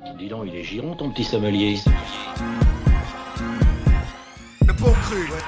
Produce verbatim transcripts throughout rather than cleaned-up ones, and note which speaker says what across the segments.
Speaker 1: Dis donc, il est giron ton petit sommelier.
Speaker 2: Le bon cru, ouais.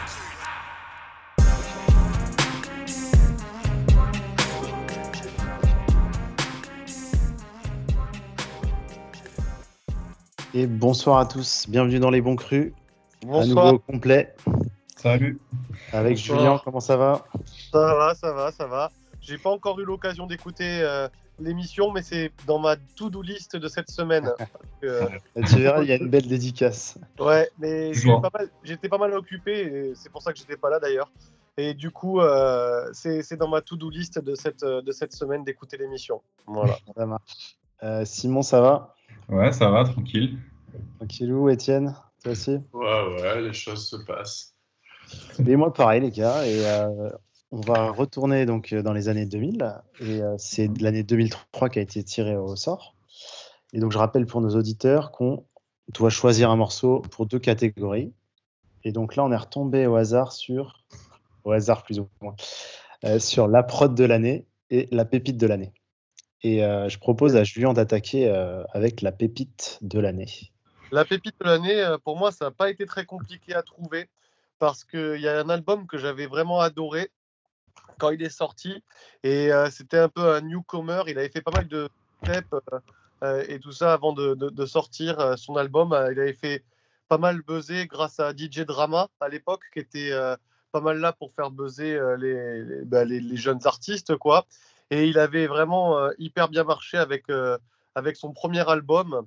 Speaker 3: Et bonsoir à tous, bienvenue dans Les Bons Crus.
Speaker 4: Bonsoir.
Speaker 3: À nouveau au complet.
Speaker 5: Salut.
Speaker 3: Avec
Speaker 4: Bonsoir.
Speaker 3: Julien, comment ça va?
Speaker 4: Ça va, ça va, ça va. J'ai pas encore eu l'occasion d'écouter euh, l'émission, mais c'est dans ma to-do list de cette semaine. euh,
Speaker 3: Tu verras, il y a une belle dédicace.
Speaker 4: ouais, mais j'étais
Speaker 5: Toujours.
Speaker 4: pas, mal, j'étais pas mal occupé, et c'est pour ça que j'étais pas là d'ailleurs. Et du coup, euh, c'est, c'est dans ma to-do list de cette, de cette semaine d'écouter l'émission. Voilà.
Speaker 3: Ça marche. Euh, Simon, ça va?
Speaker 5: Ouais, ça va, tranquille.
Speaker 3: Tranquillou, Étienne, toi aussi?
Speaker 6: Ouais, ouais, les choses se passent.
Speaker 3: Et moi, pareil, les gars. Et euh, on va retourner donc dans les années deux mille. Et euh, c'est l'année deux mille trois qui a été tirée au sort. Et donc, je rappelle pour nos auditeurs qu'on doit choisir un morceau pour deux catégories. Et donc là, on est retombé au hasard sur, au hasard plus ou moins, euh, sur la prod de l'année et la pépite de l'année. Et euh, je propose à Julien d'attaquer euh, avec la pépite de l'année.
Speaker 4: La pépite de l'année, euh, pour moi, ça n'a pas été très compliqué à trouver parce qu'il y a un album que j'avais vraiment adoré quand il est sorti. Et euh, c'était un peu un newcomer. Il avait fait pas mal de steps euh, euh, et tout ça avant de, de, de sortir euh, son album. Euh, il avait fait pas mal buzzer grâce à D J Drama à l'époque, qui était euh, pas mal là pour faire buzzer euh, les, les, bah, les, les jeunes artistes, quoi. Et il avait vraiment euh, hyper bien marché avec, euh, avec son premier album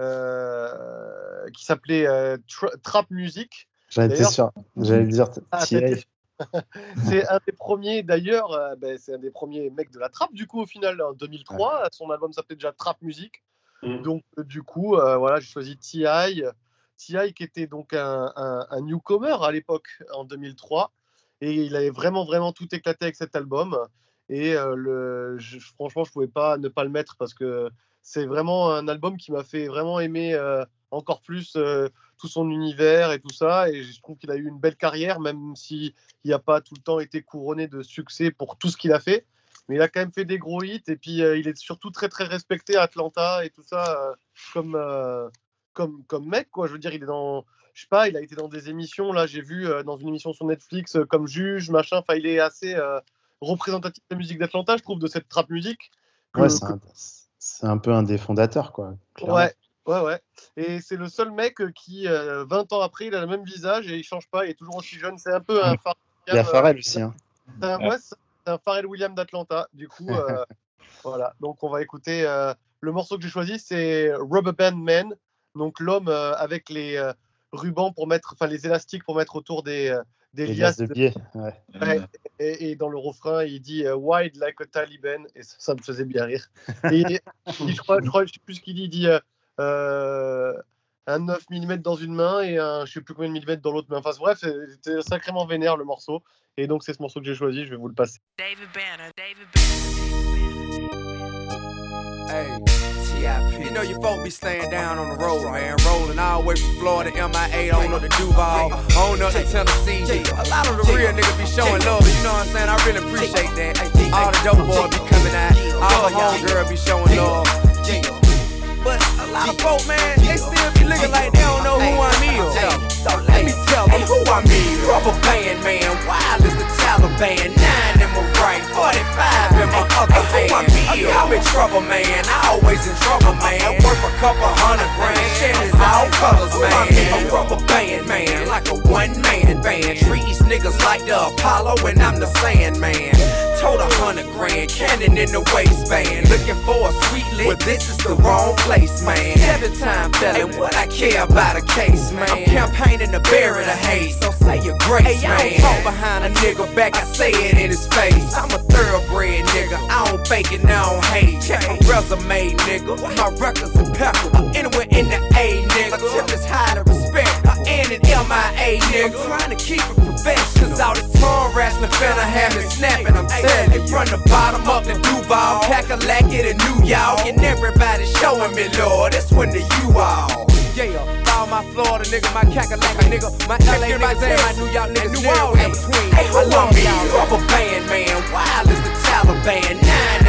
Speaker 4: euh, qui s'appelait euh, Tra- Trap Music.
Speaker 3: J'en étais
Speaker 4: D'ailleurs-
Speaker 3: sûr, j'allais dire
Speaker 4: Ah,
Speaker 3: T I.
Speaker 4: t'étais- C'est un des premiers, d'ailleurs, euh, ben, c'est un des premiers mecs de la trap, du coup, au final, en deux mille trois. Son album s'appelait déjà Trap Music.
Speaker 6: Mm.
Speaker 4: Donc, euh, du coup, euh, voilà, j'ai choisi T I. T I qui était donc un, un, un newcomer à l'époque, en deux mille trois. Et il avait vraiment, vraiment tout éclaté avec cet album. Et euh, le, je, franchement, je ne pouvais pas ne pas le mettre parce que c'est vraiment un album qui m'a fait vraiment aimer euh, encore plus euh, tout son univers et tout ça. Et je trouve qu'il a eu une belle carrière, même s'il n'a pas tout le temps été couronné de succès pour tout ce qu'il a fait. Mais il a quand même fait des gros hits. Et puis, euh, il est surtout très, très respecté à Atlanta et tout ça euh, comme, euh, comme, comme mec, quoi. Je veux dire, il est dans... Je sais pas, il a été dans des émissions. Là, j'ai vu euh, dans une émission sur Netflix euh, comme juge, machin. Enfin, il est assez... Euh, représentatif de la musique d'Atlanta, je trouve, de cette trap musique. Que,
Speaker 3: Ouais, c'est
Speaker 4: que...
Speaker 3: un, c'est un peu un des fondateurs, quoi. clairement.
Speaker 4: Ouais, ouais, ouais. Et c'est le seul mec qui, euh, vingt ans après, il a le même visage et il change pas, il est toujours aussi jeune. C'est un peu un Pharrell.
Speaker 3: Il y a Pharrell aussi. Hein.
Speaker 4: C'est un, ouais, c'est un Pharrell Williams d'Atlanta. Du coup, euh, voilà. Donc, on va écouter. Euh, le morceau que j'ai choisi, c'est Rubber Band Man. Donc, l'homme euh, avec les euh, rubans pour mettre, enfin, les élastiques pour mettre autour des, euh, des
Speaker 3: Les
Speaker 4: liasses
Speaker 3: liasses de billets. Ouais.
Speaker 4: Ouais, et, et dans le refrain, il dit euh, Wide like a Taliban, et ça, ça me faisait bien rire. Et il- il- je crois, je crois, je sais plus ce qu'il dit, il dit euh, euh, un neuf millimètres dans une main et un je sais plus combien de millimètres dans l'autre main. Enfin bref, c'était sacrément vénère le morceau. Et donc c'est ce morceau que j'ai choisi, je vais vous le passer.
Speaker 7: David Banner, David
Speaker 2: Hey, T I P. You know your folk be staying down on the road, man. Rolling all the way from Florida, M I A, on up to Duval, on up to Tennessee. A lot of the real niggas be showing love, you know what I'm saying? I really appreciate that. All the dope boys be coming out, all the homegirls be showing love. But a lot of folk, man, they still be looking like they don't know who I'm is. So let me tell them who I'm is. Rubber band, man, wild as the Taliban. Nine in my right, forty-five in my other hand. I'm in trouble, man, I always in trouble, man. Worth a couple hundred grand, Chevys all colors, man. A rubber band, man, like a one-man band. Treat these niggas like the Apollo and I'm the Sandman. Told a hundred grand, cannon in the waistband. Looking for a sweet lick, but this is the wrong place, man. Seven time felon, what I care about a case, man. I'm campaigning to bury the hate, so say your grace, hey, man. I don't talk behind a nigga back, I say it in his face. I'm a thoroughbred nigga, I don't fake it, I don't hate. Check my resume, nigga, my record's impeccable. Anywhere in the A, nigga, my tip is high to respect. I end in M I A, nigga. I'm trying to keep it professional, cause all this tongue wrestling finna have me snapping, I'm telling you. From the bottom up to Duval, Kakalaki to New York, and everybody showing me, Lord, it's when the you all. Yeah, all my Florida nigga, my Kakalaki nigga, my L A niggas and my New York niggas, New Orleans in between. I love y'all. Rubber band, man, wild as the Taliban. Nine in my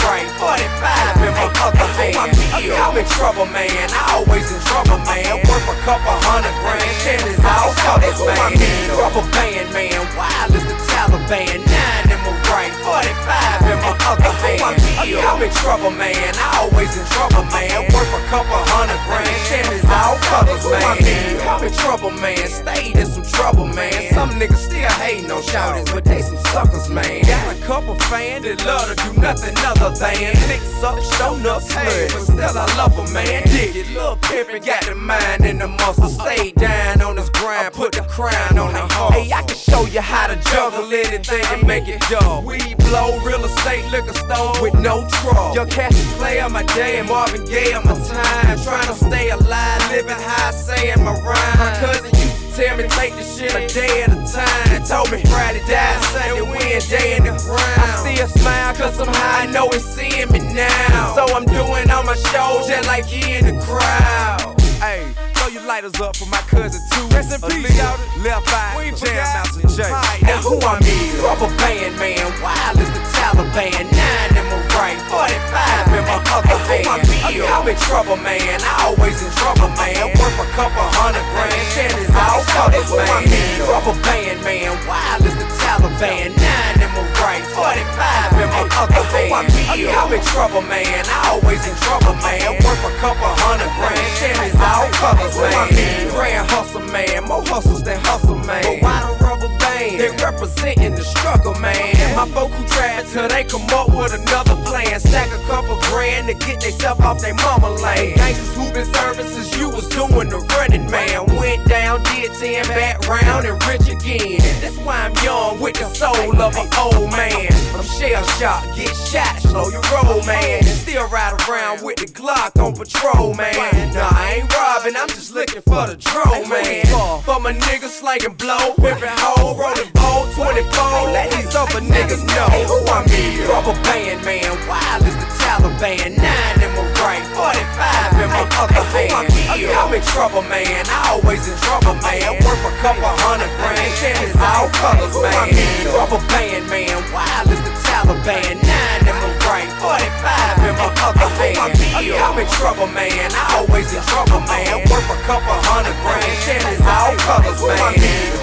Speaker 2: right, forty-five in my other hand. I'm in trouble, man, I always in trouble, man. Worth a couple hundred grand, ten is all colors, man. Rubber band, man, wild as the Taliban. Nine in my right, forty-five in my other hand. I'm in trouble, man, I always in trouble, man. Worth a couple hundred grand, ten is all colors, man. I'm in trouble, man, stayed in some trouble, man. Some niggas still hating on shouters, but they some suckers, man. Got a couple fans that love to do nothing other than fix up, show enough slut, but still I love a man. Dig it, Lil' Pimpin' got the mind and the muscle. Stay down on his grind, put the crown on the heart. Hey, I can show you how to juggle anything and make it dull. Weed blow, real estate, liquor store with no trouble. Young Cassie play on my day and Marvin Gaye on my time. Trying to stay alive, living high, saying my rhyme. My cousin used to tell me take the shit a day at a time. Told me Friday died, Sunday win, day in the ground. I still smile cause somehow I know it's seeing me now. So I'm doing all my shows just like he in the crowd. Hey, throw your lighters up for my cousin too. Rest in peace, y'all. Left eye, Jam Master J. Now who I mean? Rubber band, man, wild as the Taliban. Nine in my right, forty-five in my other hand. I'm in trouble, man, I always in trouble, man. Worth a couple hundred grand, ten is all colors, man. Rubber band, man, wild as the Taliban. Nine in my right, forty-five in my other hand. I'm in trouble, man, I always in trouble, man. Worth a couple hundred grand, ten is all colors, man. Grand hustle, man, more hustles than hustle, man. But why the rubber band? They representing the struggle, man. My folk who try till they come up with another plan. Stack a couple grand to get theyself off they mama lane. Gangsters who been serving since you was doing the running, man. Went down, did ten, back round and rich again. That's why I'm young with the soul of an old man. I'm shell shocked, get shot, slow your roll, man. Still ride around with the Glock on patrol, man. Nah, I ain't robbing, I'm just looking for the drone, man. For my niggas slanging blow, pimpin' hoe, rolling bowl, twenty-four. Let these other niggas know who I mean. Rubber band, man, wild as the Taliban. Nine in my right, forty-five in my other hand. I'm in trouble, man, I always in trouble, man. Worth a couple hundred grand, ten is all colors, man. Rubber band, man, wild as the Taliban. Nine in my right, forty-five in my other hand. I'm in trouble, man, I always in trouble, man. Worth a couple hundred grand, ten is all colors, man.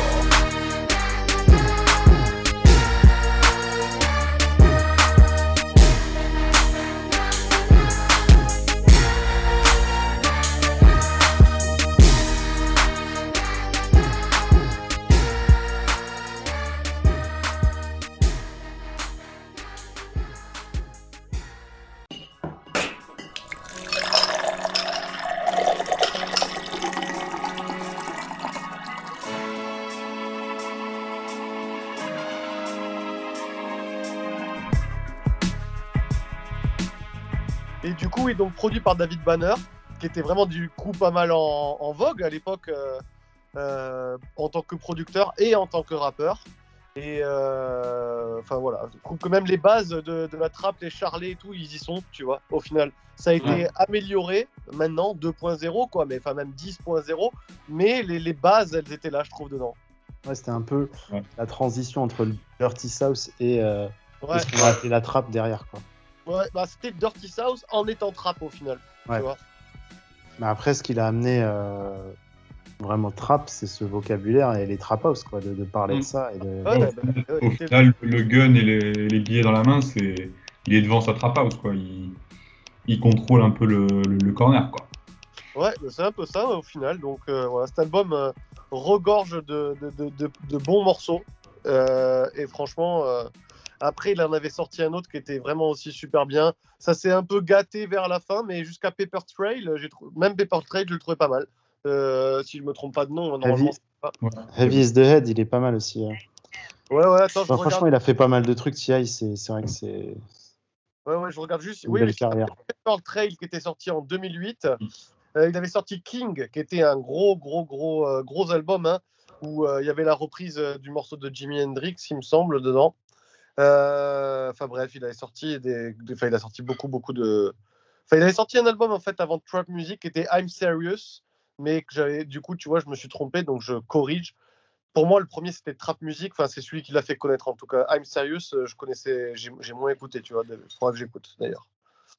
Speaker 4: Et du coup, oui, donc produit par David Banner, qui était vraiment du coup pas mal en, en vogue à l'époque euh, euh, en tant que producteur et en tant que rappeur. Et euh, enfin voilà, je trouve que même les bases de, de la trappe, les charlets et tout, ils y sont, tu vois, au final. Ça a été ouais. amélioré maintenant, deux point zéro, quoi, mais enfin même dix point zéro, mais les, les bases, elles étaient là, je trouve, dedans.
Speaker 3: Ouais, c'était un peu ouais. la transition entre le Dirty South et, euh,
Speaker 4: ouais.
Speaker 3: et ce qu'on a appelé la trappe derrière, quoi.
Speaker 4: Ouais, bah c'était Dirty South en étant trap au final.
Speaker 3: Ouais.
Speaker 4: Tu vois.
Speaker 3: Mais après, ce qu'il a amené euh, vraiment trap, c'est ce vocabulaire et les trap house, quoi, de, de parler mmh. de ça. Et de...
Speaker 4: ouais, ouais, bah,
Speaker 5: au final, le gun et les, les billets dans la main, c'est, il est devant sa trap house, quoi. Il, il contrôle un peu le, le, le corner, quoi.
Speaker 4: Ouais, c'est un peu ça au final. Donc euh, voilà, cet album euh, regorge de, de, de, de, de bons morceaux. Euh, et franchement. Euh, Après, il en avait sorti un autre qui était vraiment aussi super bien. Ça s'est un peu gâté vers la fin, mais jusqu'à Paper Trail, j'ai trou... même Paper Trail, je le trouvais pas mal. Euh, si je me trompe pas de nom, normalement.
Speaker 3: Heavy, pas... ouais. Heavy is the Head, il est pas mal aussi. Hein.
Speaker 4: Ouais, ouais, attends, je
Speaker 3: enfin,
Speaker 4: regarde...
Speaker 3: Franchement, il a fait pas mal de trucs. T I, c'est, c'est vrai que c'est.
Speaker 4: Ouais, ouais, je regarde juste.
Speaker 3: Une
Speaker 4: oui,
Speaker 3: belle carrière.
Speaker 4: Paper Trail qui était sorti en deux mille huit. Euh, il avait sorti King, qui était un gros, gros, gros, euh, gros album, hein, où euh, il y avait la reprise euh, du morceau de Jimi Hendrix, il me semble, dedans. Euh, enfin bref, il avait sorti des, des, enfin, il a sorti beaucoup, beaucoup de. Enfin, il avait sorti un album en fait avant Trap Music qui était I'm Serious, mais que j'avais, du coup, tu vois, je me suis trompé, donc je corrige. pour moi, le premier, c'était Trap Music. Enfin, c'est celui qui l'a fait connaître, en tout cas. I'm Serious, je connaissais, j'ai, j'ai moins écouté, tu vois. Il faudra que j'écoute, d'ailleurs.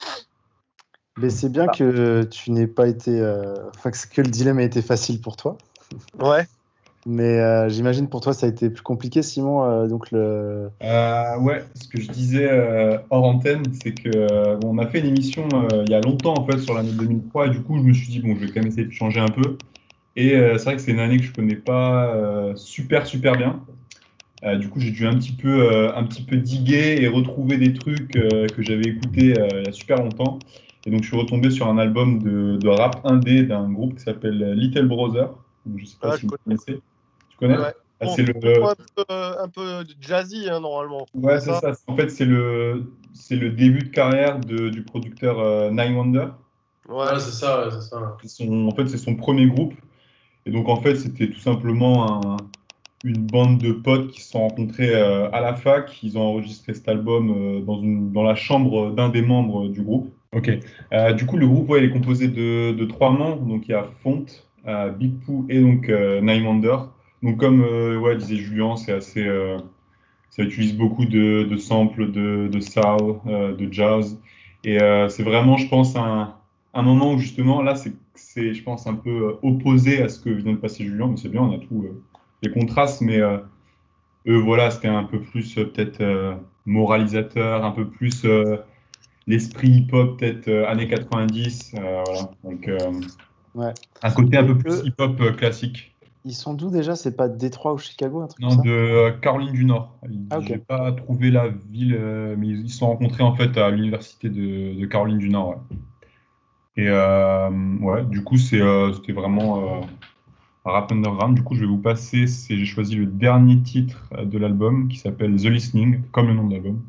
Speaker 3: Mais c'est bien
Speaker 4: Ah.
Speaker 3: que tu n'aies pas été... euh, Enfin, que que le dilemme a été facile pour toi.
Speaker 4: Ouais.
Speaker 3: Mais euh, j'imagine pour toi, ça a été plus compliqué, Simon. euh, donc le...
Speaker 5: Euh, ouais, ce que je disais euh, hors antenne, c'est que euh, bon, on a fait une émission euh, il y a longtemps en fait sur l'année deux mille trois et du coup je me suis dit bon je vais quand même essayer de changer un peu et euh, c'est vrai que c'est une année que je connais pas euh, super super bien. Euh, du coup j'ai dû un petit peu euh, un petit peu diguer et retrouver des trucs euh, que j'avais écoutés euh, il y a super longtemps et donc je suis retombé sur un album de, de rap indé d'un groupe qui s'appelle Little Brother. Donc, je sais pas
Speaker 4: Ah,
Speaker 5: si
Speaker 4: je
Speaker 5: vous
Speaker 4: connais.
Speaker 5: connaissez. Tu connais?
Speaker 4: Ouais.
Speaker 5: Ah,
Speaker 4: Bon,
Speaker 5: c'est le
Speaker 4: un, peu, un peu jazzy, hein, normalement.
Speaker 5: Ouais, c'est ça. En fait, c'est le, c'est le début de carrière de, du producteur euh, Nine Wonder.
Speaker 4: Ouais.
Speaker 6: Ouais, c'est ça, ouais, c'est ça.
Speaker 5: C'est son- en fait, c'est son premier groupe. Et donc, en fait, c'était tout simplement un- une bande de potes qui se sont rencontrés euh, à la fac. Ils ont enregistré cet album euh, dans, une, dans la chambre d'un des membres du groupe. Ok. Euh, du coup, le groupe, ouais, il est composé de, de trois membres. Donc, il y a Font, euh, Big Pooh et donc euh, Nine Wonder. Donc, comme euh, ouais, disait Julien, c'est assez. euh, Ça utilise beaucoup de, de samples de, de soul, euh, de jazz. Et euh, c'est vraiment, je pense, un, un moment où justement, là, c'est, c'est, je pense, un peu euh, opposé à ce que vient de passer Julien. Mais c'est bien, on a tous euh, les contrastes. Mais euh, eux, voilà, c'était un peu plus euh, peut-être euh, moralisateur, un peu plus euh, l'esprit hip-hop, peut-être euh, années quatre-vingt-dix. Euh, voilà. Donc, euh,
Speaker 3: Ouais.
Speaker 5: un côté un
Speaker 3: Et
Speaker 5: peu plus
Speaker 3: eux-
Speaker 5: hip-hop euh, classique.
Speaker 3: Ils sont d'où déjà? C'est pas Détroit ou Chicago, un truc
Speaker 5: Non,
Speaker 3: comme ça?
Speaker 5: de euh, Caroline du Nord.
Speaker 3: Ah, ok.
Speaker 5: J'ai pas trouvé la ville, euh, mais ils ils se sont rencontrés en fait à l'université de, de Caroline du Nord. Ouais. Et euh, ouais, du coup, c'est, euh, c'était vraiment euh, un rap underground. Du coup, je vais vous passer, c'est, j'ai choisi le dernier titre euh, de l'album qui s'appelle The Listening, comme le nom de l'album.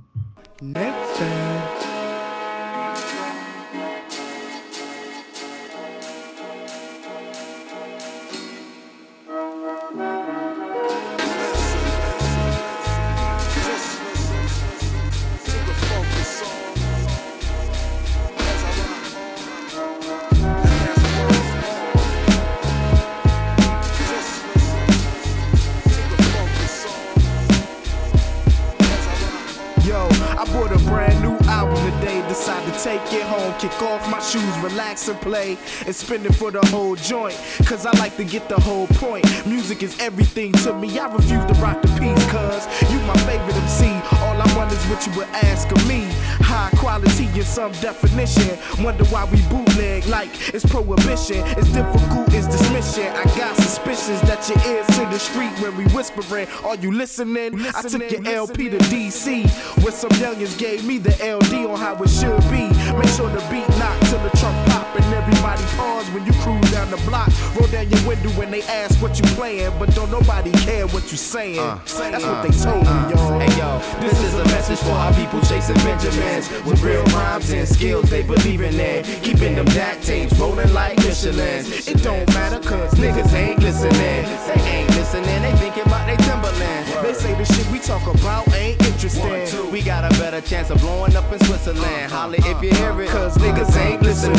Speaker 7: Yo, I bought a brand new album today. Decided to take it home, kick off my shoes, relax and play, and spin it for the whole joint. Cause I like to get the whole point. Music is everything to me. I refuse to rock the piece, cause you my favorite M C. All I want is what you would ask of me. High quality in some definition. Wonder why we bootleg like it's prohibition. It's difficult, it's dismission. I got suspicions that your ears to the street when we whispering. Are you listening? I took your L P to D C, where some youngins gave me the L D on how it should be. Make sure the beat knock till the trunk pop and everybody pause when you cruise down the block. Roll down your window when they ask what you playing, but don't nobody care what you saying.
Speaker 2: Uh,
Speaker 7: That's
Speaker 2: uh,
Speaker 7: what they told me,
Speaker 2: uh,
Speaker 7: y'all.
Speaker 2: Hey yo, this is a message for our people chasing Benjamins with real rhymes and skills they believe in it. Keeping them DAC tapes rolling like Michelins. It don't matter cause niggas ain't listening. They ain't listening, they thinking about they Timberland.
Speaker 7: They say the shit we talk about ain't interesting.
Speaker 2: One, two, we got a better chance of blowing up in Switzerland. Holla if you hear it, cause niggas ain't listening.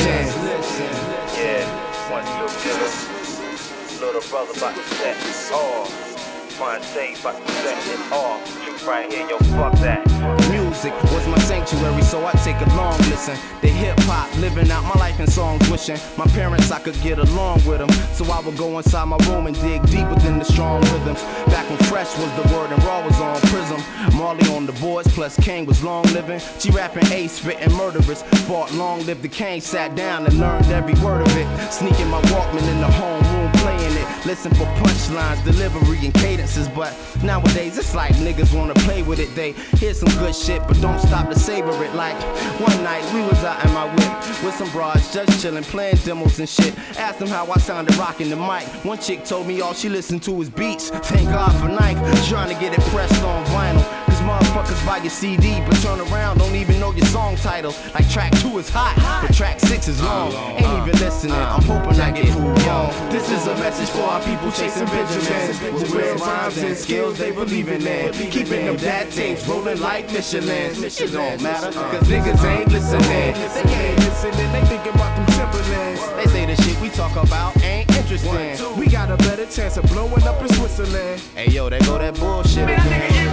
Speaker 8: Yeah, one, two, two. Little brother about to set it off. Fontaine about to set it off. Truth right here, yo, fuck that.
Speaker 2: Music was my sanctuary, so I take a long listen. The hip hop, living out my life in songs, wishing my parents I could get along with them. So I would go inside my room and dig deep within the strong rhythms. Back when Fresh was the word and Raw was on Prism. Marley on the boards, plus Kane was long living. G rapping Ace, spitting murderers. Bought Long Live the Kane, sat down and learned every word of it. Sneaking my Walkman in the homeroom, playing it. Listen for punchlines, delivery, and cadences. But nowadays it's like niggas wanna play with it. They hear some good shit, but don't stop to savor it. Like one night we was out in my whip with some broads, just chillin', playing demos and shit. Asked them how I sounded rocking the mic. One chick told me all she listened to was beats. Thank God for Nike, trying to get it pressed on vinyl. Cause motherfuckers buy your C D, but turn around, don't even know your song title. Like track two is hot, but track six is long. Ain't even listening, I'm hoping I get proved wrong.
Speaker 7: This is a message for our people chasing Benjamins with real rhymes and skills they believe in it. Keeping them dad tapes rolling like Michelins. It don't matter, cause niggas ain't listening. They ain't listening, they thinking about them Timberlands.
Speaker 2: They say the shit we talk about ain't interesting.
Speaker 7: We got got a better chance of blowing up in Switzerland.
Speaker 9: Hey yo, there go that bullshit again.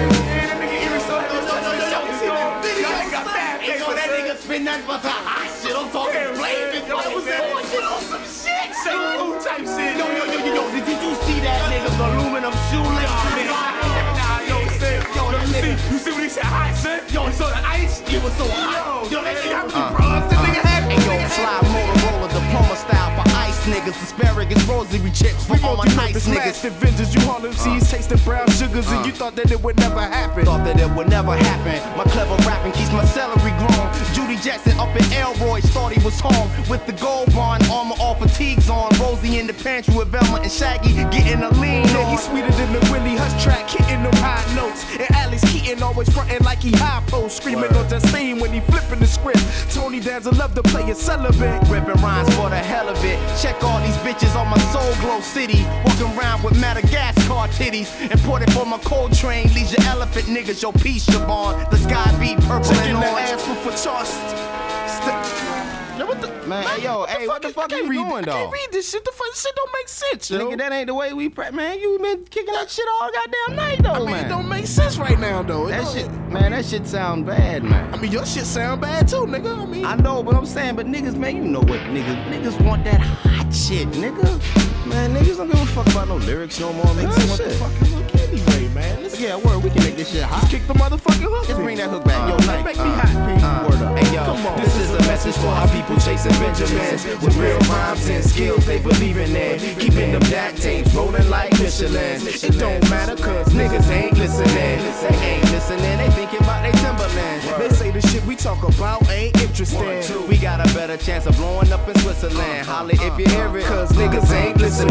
Speaker 10: That nigga spin that but the hot shit. I'm talking flaming. Yo, was that bullshit on some shit? Same food type shit. Yo, yo, yo, yo, yo. Did, did you see that nigga's aluminum shoelaces? Nah, yo, say, yo, that nigga. You see what he said? Hot shit. Yo, he saw the ice. It was so hot. Yo, that nigga had me bros. That nigga had me.
Speaker 9: Hey yo, fly Motorola diploma style for ice niggas. Asparagus rosary chips for all my nice niggas.
Speaker 7: Avengers, you Harlem seas, tasting brown sugars, and you thought that it would never happen.
Speaker 9: Thought that it would never happen. My clever rapping keeps my celery grown. Judy Jackson up in Elroy, thought he was home with the gold bond, armor all fatigues on. Rosie in the pantry with Velma and Shaggy getting a lean
Speaker 7: Yeah,
Speaker 9: on.
Speaker 7: he's sweeter than the Willie Hush track, hitting them high notes. And Alex Keaton always frontin' like he high post, screaming on Justine when he flipping the script. Tony Danza love to play a celibate,
Speaker 9: ripping rhymes for the hell of it. Check all these bitches on my Soul Glow City, walking around with Madagascar titties. Imported for my Coltrane, Leisure Elephant niggas, your peace, Siobhan. The sky be purple
Speaker 7: taking
Speaker 9: and
Speaker 7: the
Speaker 9: orange.
Speaker 7: ass for for tossed.
Speaker 9: Yo, what the man? Hey, yo,
Speaker 7: what the
Speaker 9: hey,
Speaker 7: fuck
Speaker 9: what the
Speaker 7: is-
Speaker 9: fuck
Speaker 7: I
Speaker 9: are
Speaker 7: can't
Speaker 9: you
Speaker 7: read-
Speaker 9: doing,
Speaker 7: I
Speaker 9: though?
Speaker 7: can't read this shit. The fuck shit don't make sense, yo.
Speaker 9: Nigga, that ain't the way we prep, man. You been kicking that shit all goddamn night, though,
Speaker 7: I mean,
Speaker 9: man.
Speaker 7: it don't make sense right now, though. It
Speaker 9: That
Speaker 7: don't-
Speaker 9: shit, man, that shit sound bad, man.
Speaker 7: I mean, your shit sound bad too, nigga. I mean,
Speaker 9: I know, but I'm saying, but niggas, man, you know what niggas, niggas want that hot shit, nigga. Man, niggas don't give a fuck about no lyrics no more, man.
Speaker 7: niggas want
Speaker 9: Shit.
Speaker 7: the fucking hook anyway, man. Let's
Speaker 9: Yeah, word, we can make this shit hot.
Speaker 7: Just kick the motherfucking hook.
Speaker 9: Just bring that hook back. Yo, Nike,
Speaker 7: make
Speaker 9: uh,
Speaker 7: me hot, P.
Speaker 9: uh,
Speaker 7: Word up.
Speaker 9: Hey, yo,
Speaker 7: Come on.
Speaker 9: this is a message for our people chasing Benjamins with real rhymes and skills they believe in it. Keeping them back tapes rolling like Michelin. It don't matter cause niggas ain't listening. They ain't listening, they thinking about they Timberland.
Speaker 7: They say the shit we talk about ain't interesting.
Speaker 9: We got a better chance of blowing up in Switzerland. Holla if you hear it, cause niggas ain't listening.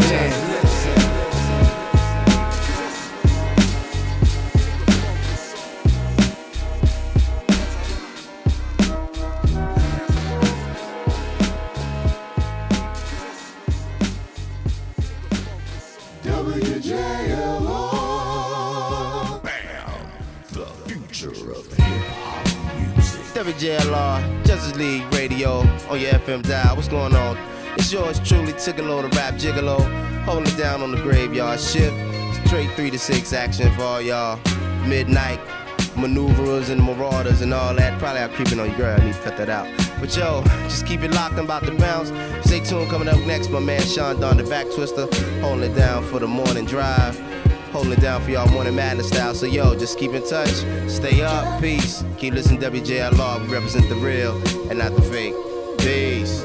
Speaker 7: W J L R. Bam. The future of hip-hop music.
Speaker 9: W J L R, Justice League Radio on your F M dial. What's going on? It's yours truly, Tigolo, the rap gigolo, holding it down on the graveyard shift. Straight three to six action for all y'all midnight maneuverers and marauders and all that. Probably out creeping on your girl. I need to cut that out. But yo, just keep it locked. I'm about to bounce. Stay tuned. Coming up next, my man Sean Don, the back twister, holding it down for the morning drive. Holding it down for y'all morning madness style. So yo, just keep in touch. Stay up. Peace. Keep listening to W J L R. We represent the real and not the fake. Peace.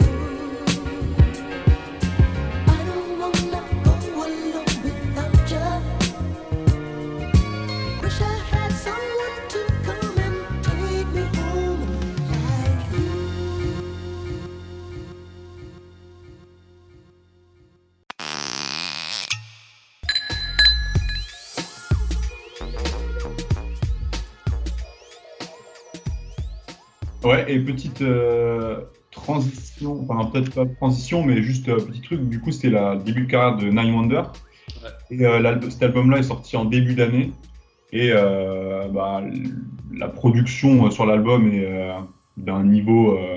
Speaker 5: Ouais, et petite euh, transition, enfin peut-être pas transition, mais juste euh, petit truc, du coup c'était la le début de carrière de Nine Wonder.
Speaker 6: Ouais.
Speaker 5: Et euh, l'album- cet album-là est sorti en début d'année. Et euh, bah, l- la production euh, sur l'album est euh, d'un niveau, euh,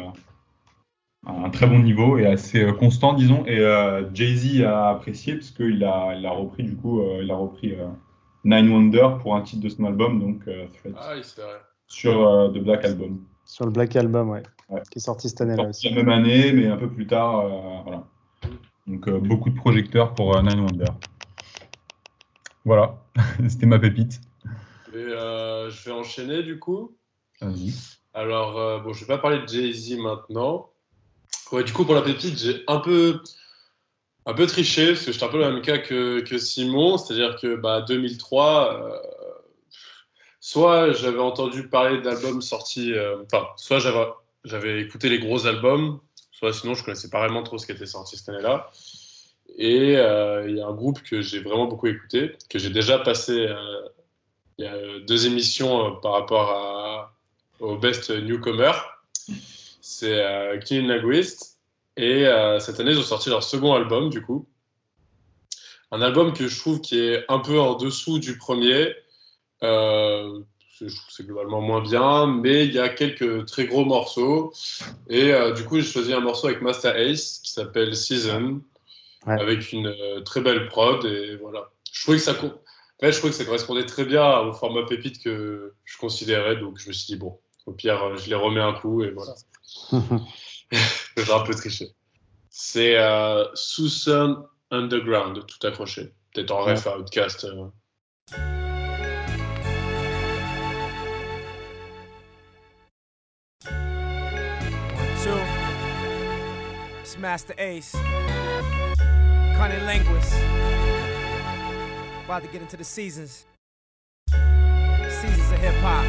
Speaker 5: un très bon niveau et assez euh, constant, disons. Et euh, Jay-Z a apprécié parce qu'il a, il a repris du coup, euh, il a repris euh, Nine Wonder pour un titre de son album, donc euh, Threat,
Speaker 6: Ah oui, c'est vrai.
Speaker 5: sur euh, The Black Album.
Speaker 3: Sur le Black Album, ouais.
Speaker 5: Ouais.
Speaker 3: Qui est sorti cette année-là
Speaker 5: Sorti
Speaker 3: aussi.
Speaker 5: la même année, mais un peu plus tard. euh, voilà. Donc euh, beaucoup de projecteurs pour euh, Nine Wonder. Voilà, c'était ma pépite.
Speaker 6: Et euh, je vais enchaîner du coup.
Speaker 5: Vas-y.
Speaker 6: Alors, euh, bon, je vais pas parler de Jay-Z maintenant. Ouais, du coup, pour la pépite, j'ai un peu, un peu triché, parce que j'étais un peu le même cas que, que Simon, c'est-à-dire que bah, deux mille trois, euh, soit j'avais entendu parler d'albums sortis, euh, enfin, soit j'avais, j'avais écouté les gros albums, soit sinon je connaissais pas vraiment trop ce qui était sorti cette année-là. Et il euh, y a un groupe que j'ai vraiment beaucoup écouté, que j'ai déjà passé euh, il y a deux émissions euh, par rapport à, au Best Newcomer. C'est euh, Killing Linguist. Et euh, cette année, ils ont sorti leur second album, du coup. Un album que je trouve qui est un peu en dessous du premier. Euh, je trouve que c'est globalement moins bien, mais il y a quelques très gros morceaux. Et euh, du coup, j'ai choisi un morceau avec Master Ace qui s'appelle Season.
Speaker 3: Ouais.
Speaker 6: avec une euh, très belle prod et voilà. Je trouvais que ça, co- en fait, je trouvais que ça correspondait très bien au format pépite que je considérais, donc je me suis dit bon, au pire, euh, je les remets un coup et voilà. J'ai un peu triché. C'est euh, Southern Underground, tout accroché. Peut-être en ref à Outkast. euh.
Speaker 2: One, two. It's Master Ace. Cunning linguist. About to get into the seasons. Seasons of hip hop.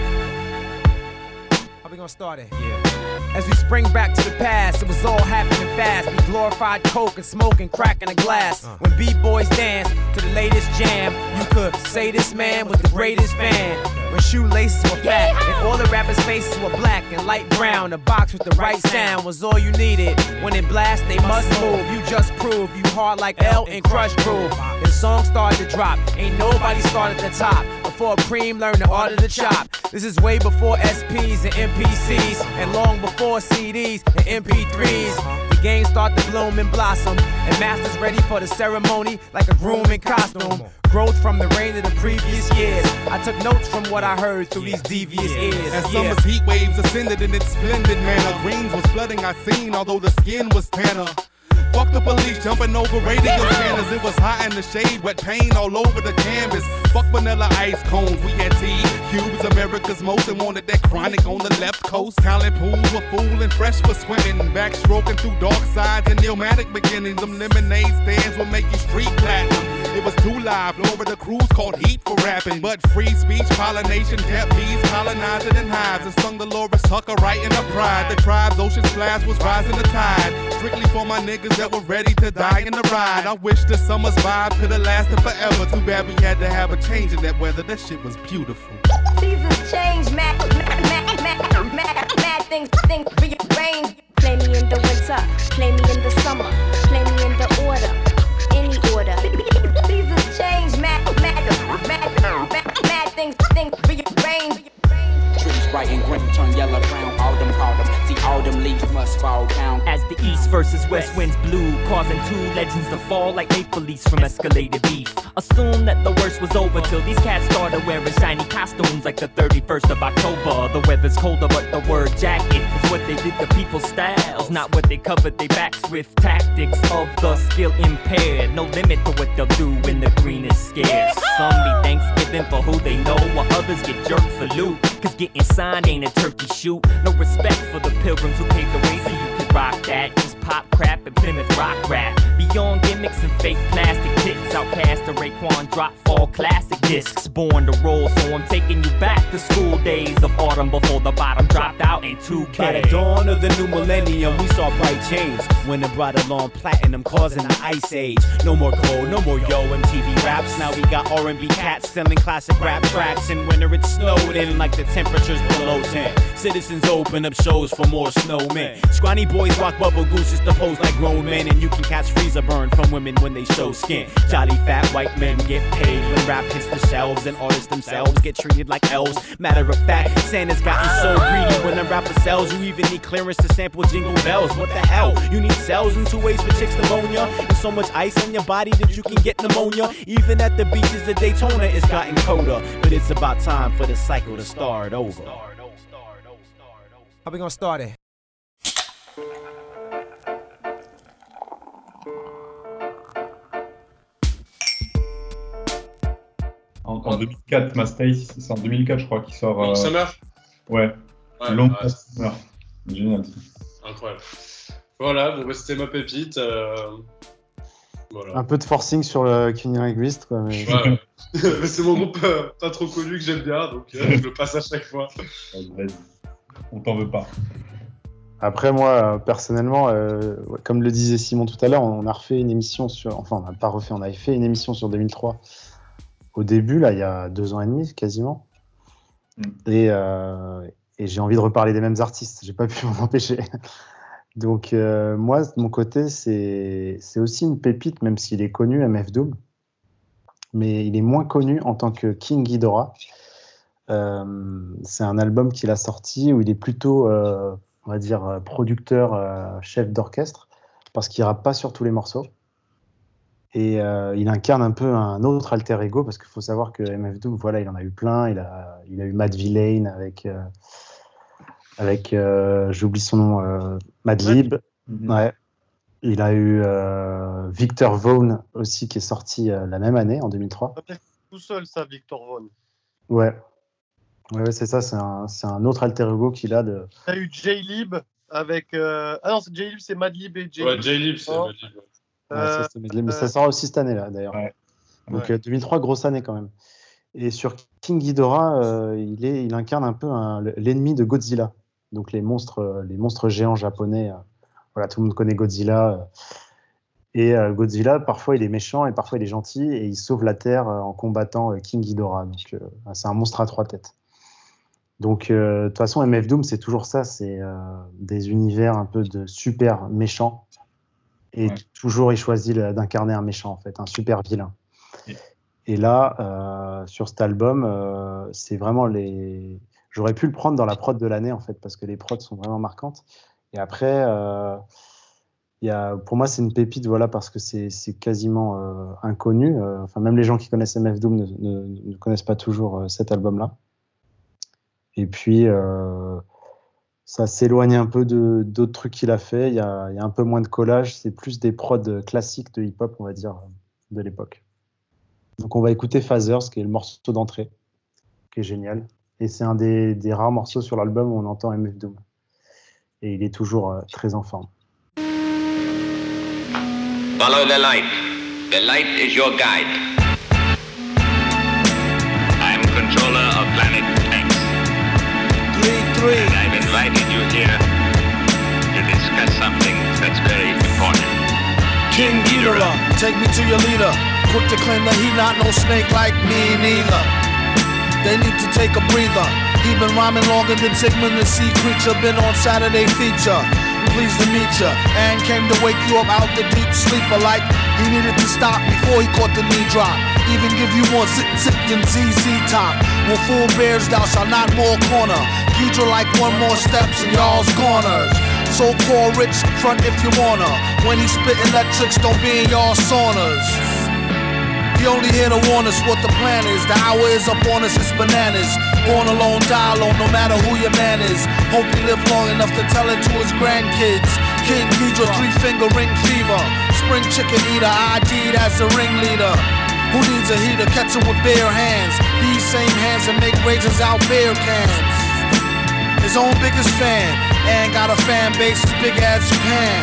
Speaker 2: How we gonna start it? Yeah. As we spring back to the past, it was all happening fast. We glorified coke and smoking, cracking a glass. Uh. When b-boys dance to the latest jam, you could say this man was the greatest fan. When shoelaces were fat and all the rappers' faces were black and light brown, the box with the right sound was all you needed. When it blasts, they must move. You just prove you hard like L and Crush Groove. The song started to drop. Ain't nobody started at the top. Before Preem learned the art of the chop. This is way before S Ps and M P Cs, and long before C Ds and M P threes. The game started to bloom and blossom, and masters ready for the ceremony like a groom in costume. Growth from the rain of the previous years. I took notes from what I heard through these devious ears.
Speaker 11: As summer's heat waves ascended in its splendid manner, greens was flooding our scene, although the skin was tanner. Fuck the police jumping over radio scanners. It was hot in the shade, wet paint all over the canvas. Fuck vanilla ice cones, we had tea. Cubes, America's most, and wanted that chronic on the left coast. Talent pools were full and fresh for swimming. Backstroking through dark sides and pneumatic beginnings. Them lemonade stands will make you street platinum. It was too live, over the cruise called Heat for rapping. But free speech, pollination, kept bees colonizing in hives. And sung Dolores Tucker right in her pride. The tribe's ocean splash was rising the tide. Strictly for my niggas that were ready to die in the ride. I wish the summer's vibe could have lasted forever. Too bad we had to have a change in that weather. That shit was beautiful.
Speaker 12: Seasons change, mad, mad, mad, mad, mad, mad things, things rearrange. Play me in the winter, play me in the summer, play me in the order, any order. Seasons change, mad, mad, mad, mad, mad things, things rearrange.
Speaker 13: Trees bright and green turn yellow brown, autumn autumn. See autumn leaves must fall down.
Speaker 14: As the east versus west winds blew, causing two legends to fall like maple leaves from escalated beef. Assume that the worst was over till these cats started wearing shiny costumes like the thirty-first of October. The weather's colder, but the word jacket is what they did to people's styles, not what they covered their backs with. Tactics of the skill impaired, no limit to what they'll do when the green is scarce. Some be Thanksgiving for who they know, while others get jerked for loot. Cause getting signed ain't a turkey shoot. No respect for the pilgrims who paved the way so you can rock that. Just pop crap and Plymouth rock rap. Beyond gimmicks and fake plastic tits, Outkast to Raekwon drop fall classic discs. Born to roll, so I'm taking you back to school days of autumn before the bottom dropped out in two K.
Speaker 15: By the dawn of the new millennium, we saw bright change when it brought along platinum, causing the ice age. No more gold, no more yo M T V raps. Now we got R and B cats selling classic rap tracks. And winter it snowed in like the temperatures below ten. Citizens open up shows for more snowmen. Scrawny boys rock bubble gooses to pose like grown men. And you can catch freezer burn from women when they show skin. Jolly fat white men get paid when rap hits the shelves. And artists themselves get treated like elves. Matter of fact, Santa's gotten so greedy when a rapper sells. You even need clearance to sample Jingle Bells. What the hell? You need cells in two ways for chicks pneumonia. And so much ice on your body that you can get pneumonia. Even at the beaches of Daytona, it's gotten colder. But it's about time for the cycle to start over.
Speaker 2: How we gonna start it?
Speaker 5: En, en deux mille quatre, Mastace, c'est en deux mille quatre, je crois, qu'il sort.
Speaker 6: Long
Speaker 5: euh...
Speaker 6: Summer.
Speaker 5: Ouais.
Speaker 6: Ouais,
Speaker 5: Long
Speaker 6: ouais,
Speaker 5: Summer. Génial.
Speaker 6: Incroyable. Voilà, bon, bah, c'était ma pépite. Euh... Voilà.
Speaker 3: Un peu de forcing sur le Kenny Linguist, quoi. Mais...
Speaker 6: Ouais, ouais. C'est mon groupe euh, pas trop connu que j'aime bien, donc euh, je le passe à chaque fois.
Speaker 5: Vas-y. On t'en veut pas.
Speaker 3: Après, moi, personnellement, euh, comme le disait Simon tout à l'heure, on a refait une émission sur... Enfin, on n'a pas refait, on avait fait une émission sur deux mille trois au début, là, il y a deux ans et demi, quasiment. Mm. Et, euh, et j'ai envie de reparler des mêmes artistes. J'ai pas pu m'en empêcher. Donc, euh, moi, de mon côté, c'est, c'est aussi une pépite, même s'il est connu, M F Doom. Mais il est moins connu en tant que King Ghidorah. Euh, c'est un album qu'il a sorti où il est plutôt... Euh, on va dire producteur, euh, chef d'orchestre, parce qu'il rappe pas sur tous les morceaux. Et euh, il incarne un peu un autre alter ego, parce qu'il faut savoir que M F Doom, voilà, il en a eu plein. Il a, il a eu Matt Villain avec, euh, avec euh, j'oublie son nom, euh, Madlib.
Speaker 5: Mhm.
Speaker 3: Ouais. Il a eu euh, Victor Vaughn aussi, qui est sorti euh, la même année, en deux mille trois.
Speaker 4: Tout seul, ça, Victor Vaughn.
Speaker 3: Ouais. Ouais, ouais, c'est ça, c'est un, c'est un autre alter ego qu'il a de.
Speaker 4: Il y a eu J-Lib avec. Euh... Ah non, c'est J-Lib, c'est Madlib et J-Lib.
Speaker 6: Ouais, J-Lib, c'est
Speaker 4: Oh.
Speaker 6: Madlib. Ouais.
Speaker 3: Ouais,
Speaker 4: Euh,
Speaker 3: ça, c'est Medley, mais
Speaker 4: euh,
Speaker 3: ça sort aussi cette année-là, d'ailleurs.
Speaker 5: Ouais.
Speaker 3: Donc
Speaker 4: Ouais.
Speaker 3: euh, deux mille trois, grosse année quand même. Et sur King Ghidorah, euh, il, est, il incarne un peu un- l'ennemi de Godzilla. Donc les monstres, euh, les monstres géants japonais. euh, voilà, tout le monde connaît Godzilla. euh. Et euh, Godzilla, parfois il est méchant et parfois il est gentil, et il sauve la Terre euh, en combattant euh, King Ghidorah. Donc euh, c'est un monstre à trois têtes. Donc euh, de toute façon, M F Doom, c'est toujours ça, c'est euh, des univers un peu de super méchants. Et
Speaker 5: Ouais.
Speaker 3: toujours, il choisit le- d'incarner un méchant, en fait, un super vilain.
Speaker 5: Et-
Speaker 3: Et là, euh, sur cet album, euh, c'est vraiment les. J'aurais pu le prendre dans la prod de l'année, en fait, parce que les prods sont vraiment marquantes. Et après, euh, il y a, pour moi, c'est une pépite, voilà, parce que c'est c'est quasiment euh, inconnu. Euh, Enfin, même les gens qui connaissent M F Doom ne, ne- ne connaissent pas toujours euh, cet album-là. Et puis, euh, ça s'éloigne un peu de d'autres trucs qu'il a fait. Il y a, il y a un peu moins de collage. C'est plus des prods classiques de hip-hop, on va dire, de l'époque. Donc, on va écouter Phasers, qui est le morceau d'entrée, qui est génial. Et c'est un des, des rares morceaux sur l'album où on entend M F Doom. Et il est toujours euh, très en forme.
Speaker 16: Follow the light. The light is your guide. I'm controller of planet X.
Speaker 10: Three, three.
Speaker 16: And I've invited you here to discuss something that's very important.
Speaker 10: King Ghidorah, take me to your leader. Quick to claim that he not no snake like me neither. They need to take a breather. He been rhyming longer than Sigmund the Sea Creature. Been on Saturday feature. Pleased to meet ya. And came to wake you up out the deep sleeper. Like he needed to stop before he caught the knee drop. Even give you more zip zip than Z Z Top. When full bears thou shalt not more corner. Ghidra like one more steps and y'all's corners. So called rich front if you wanna. When he spit electrics, don't be in y'all saunas. He only here to warn us what the plan is. The hour is up on us, it's bananas. Born alone, die alone, no matter who your man is. Hope he live long enough to tell it to his grandkids. King Ghidra, three finger ring fever. Spring chicken eater, I D'd as the ringleader. Who needs a heater? Catch him with bare hands. These same hands that make razors out beer cans. His own biggest fan, and got a fan base as big as Japan.